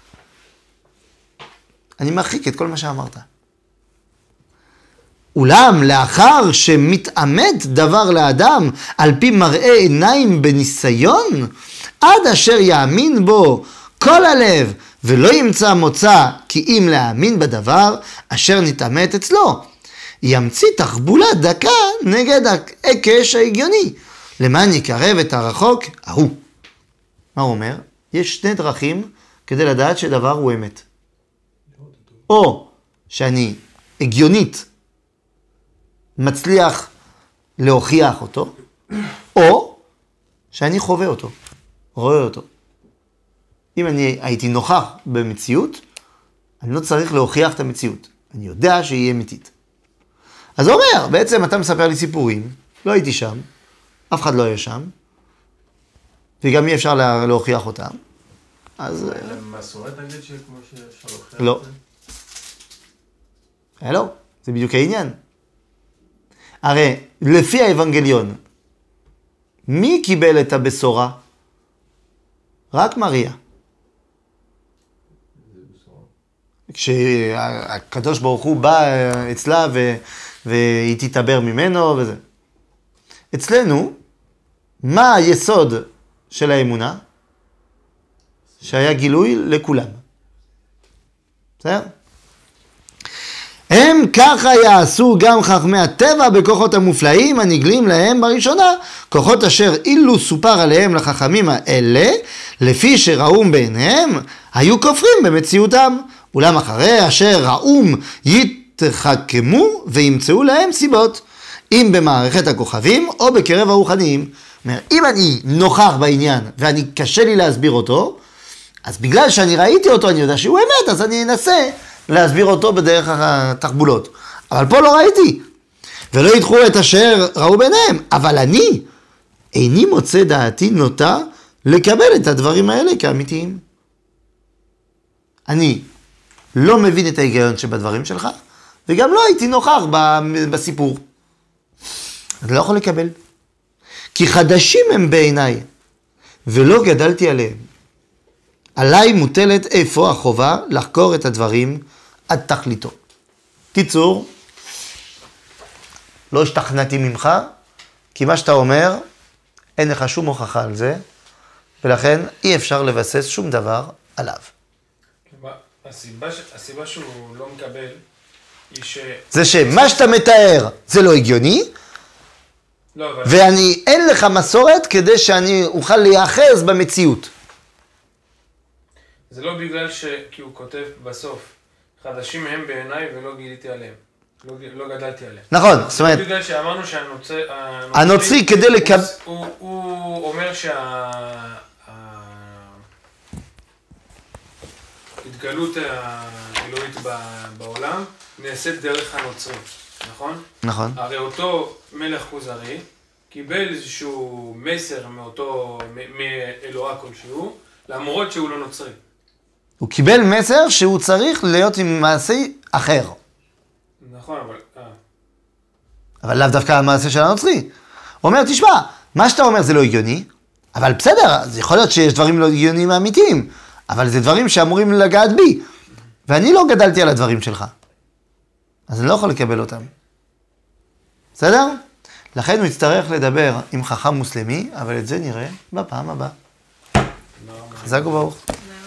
אני מרחיק את כל מה שאמרת. אולם לאחר שמתאמת דבר לאדם על פי מראה עיניים בניסיון, עד אשר יאמין בו כל הלב ולא ימצא מוצא כי אם להאמין בדבר אשר נתאמת אצלו, ימציא תחבולה דקה נגד ההיקש ההגיוני, למען יקרב את הרחוק ההוא. מה הוא אומר? יש שני דרכים כדי לדעת שדבר הוא אמת. או שאני הגיונית מצליח להוכיח אותו, או שאני חווה אותו, רואה אותו. אם אני הייתי נוכח במציאות, אני לא צריך להוכיח את המציאות. אני יודע שהיא אמיתית. אז הוא אומר, בעצם אתה מספר לי סיפורים, לא הייתי שם, אף אחד לא היה שם, וגם אי אפשר לה, להוכיח אותם. אז... מסורת נגיד שכמו שאפשר להוכיח? לא. לא, זה בדיוק העניין. הרי לפי האבנגליון, מי קיבל את הבשורה? רק מריה. כשהקדוש ברוך הוא בא אצלה ו... והיא תתעבר ממנו וזה. אצלנו, מה היסוד של האמונה? שהיה גילוי לכולם. בסדר? הם ככה יעשו גם חכמי הטבע בכוחות המופלאים הנגלים להם בראשונה, כוחות אשר אילו סופר עליהם לחכמים האלה, לפי שראום בעיניהם, היו כופרים במציאותם, אולם אחרי אשר ראום יתחכמו וימצאו להם סיבות, אם במערכת הכוכבים או בקרב הרוחניים. אומר, אם אני נוכח בעניין ואני קשה לי להסביר אותו, אז בגלל שאני ראיתי אותו, אני יודע שהוא אמת, אז אני אנסה להסביר אותו בדרך התחבולות. אבל פה לא ראיתי. ולא ידחו את אשר ראו ביניהם. אבל אני, איני מוצא דעתי נוטה לקבל את הדברים האלה כאמיתיים. אני לא מבין את ההיגיון שבדברים שלך, וגם לא הייתי נוכח בסיפור. אני לא יכול לקבל. כי חדשים הם בעיניי, ולא גדלתי עליהם. עליי מוטלת איפה החובה לחקור את הדברים עד תכליתו. קיצור, לא השתכנעתי ממך, כי מה שאתה אומר, אין לך שום הוכחה על זה, ולכן אי אפשר לבסס שום דבר עליו. הסיבה, הסיבה שהוא לא מקבל היא ש... זה שמה שאתה מתאר זה לא הגיוני, לא, אבל... ואני, אין לך מסורת כדי שאני אוכל להיאחז במציאות. זה לא בגלל ש... כי הוא כותב בסוף, חדשים הם בעיניי ולא גיליתי עליהם. לא, לא גדלתי עליהם. נכון, זאת אומרת... זה בגלל שאמרנו שהנוצרי... הנוצרי כדי לקבל... הוא, הוא אומר שה... ההתגלות האלוהית בעולם נעשית דרך הנוצרי, נכון? נכון. הרי אותו מלך כוזרי קיבל איזשהו מסר מאותו, מאלוהה כלשהו, למרות שהוא לא נוצרי. הוא קיבל מסר שהוא צריך להיות עם מעשי אחר. נכון, אבל... אה. אבל לאו דווקא המעשה של הנוצרי. הוא אומר, תשמע, מה שאתה אומר זה לא הגיוני, אבל בסדר, אז יכול להיות שיש דברים לא הגיוניים אמיתיים, אבל זה דברים שאמורים לגעת בי, ואני לא גדלתי על הדברים שלך. אז אני לא יכול לקבל אותם. בסדר? לכן הוא יצטרך לדבר עם חכם מוסלמי, אבל את זה נראה בפעם הבאה. חזק וברוך.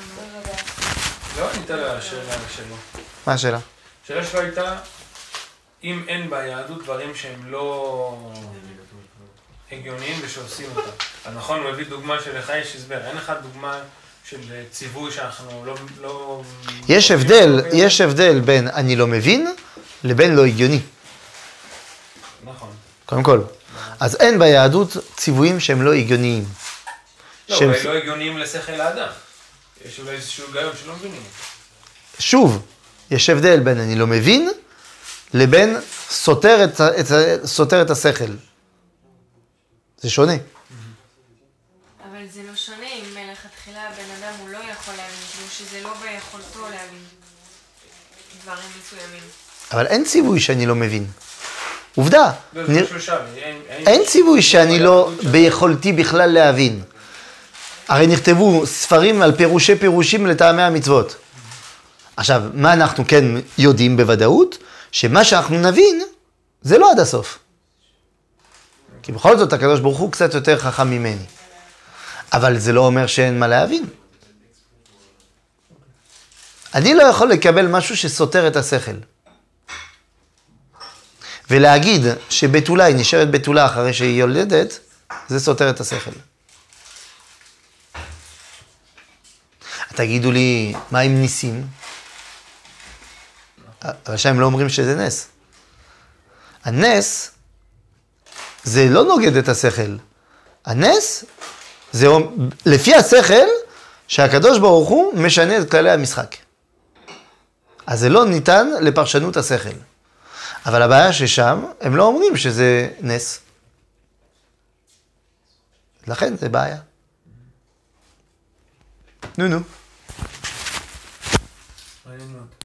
לא ענית לשאלה שלו. מה השאלה? השאלה שלו הייתה, אם אין ביהדות דברים שהם לא הגיוניים ושעושים אותם. אז נכון, הוא הביא דוגמה שלך יש הסבר. אין לך דוגמה של ציווי שאנחנו לא... לא... יש הבדל, יש הבדל בין אני לא מבין לבין לא הגיוני. נכון. קודם כל. אז אין ביהדות ציוויים שהם לא הגיוניים. לא, שהם... אולי לא הגיוניים לשכל האדם. יש אולי איזשהו היגיון שלא מבינים. שוב, יש הבדל בין אני לא מבין לבין סותר את, את, סותר את השכל. זה שונה. אבל זה לא שונה אם מלכתחילה הבן אדם הוא לא יכול להבין, כאילו שזה לא ביכולתו להבין דברים מסוימים. אבל אין ציווי שאני לא מבין. עובדה. לא, זה נרא... שלושה, אין, אין, אין ציווי שאני לא ש... ביכולתי בכלל להבין. הרי נכתבו ספרים על פירושי פירושים לטעמי המצוות. עכשיו, מה אנחנו כן יודעים בוודאות? שמה שאנחנו נבין, זה לא עד הסוף. כי בכל זאת, הקדוש ברוך הוא קצת יותר חכם ממני. אבל זה לא אומר שאין מה להבין. אני לא יכול לקבל משהו שסותר את השכל. ולהגיד שבתולה היא נשארת בתולה אחרי שהיא יולדת, זה סותר את השכל. תגידו לי, מה עם ניסים? אבל שהם לא אומרים שזה נס. הנס זה לא נוגד את השכל. הנס זה לפי השכל שהקדוש ברוך הוא משנה את כללי המשחק. אז זה לא ניתן לפרשנות השכל. אבל הבעיה ששם, הם לא אומרים שזה נס. לכן זה בעיה. נו נו. מעניין מאוד.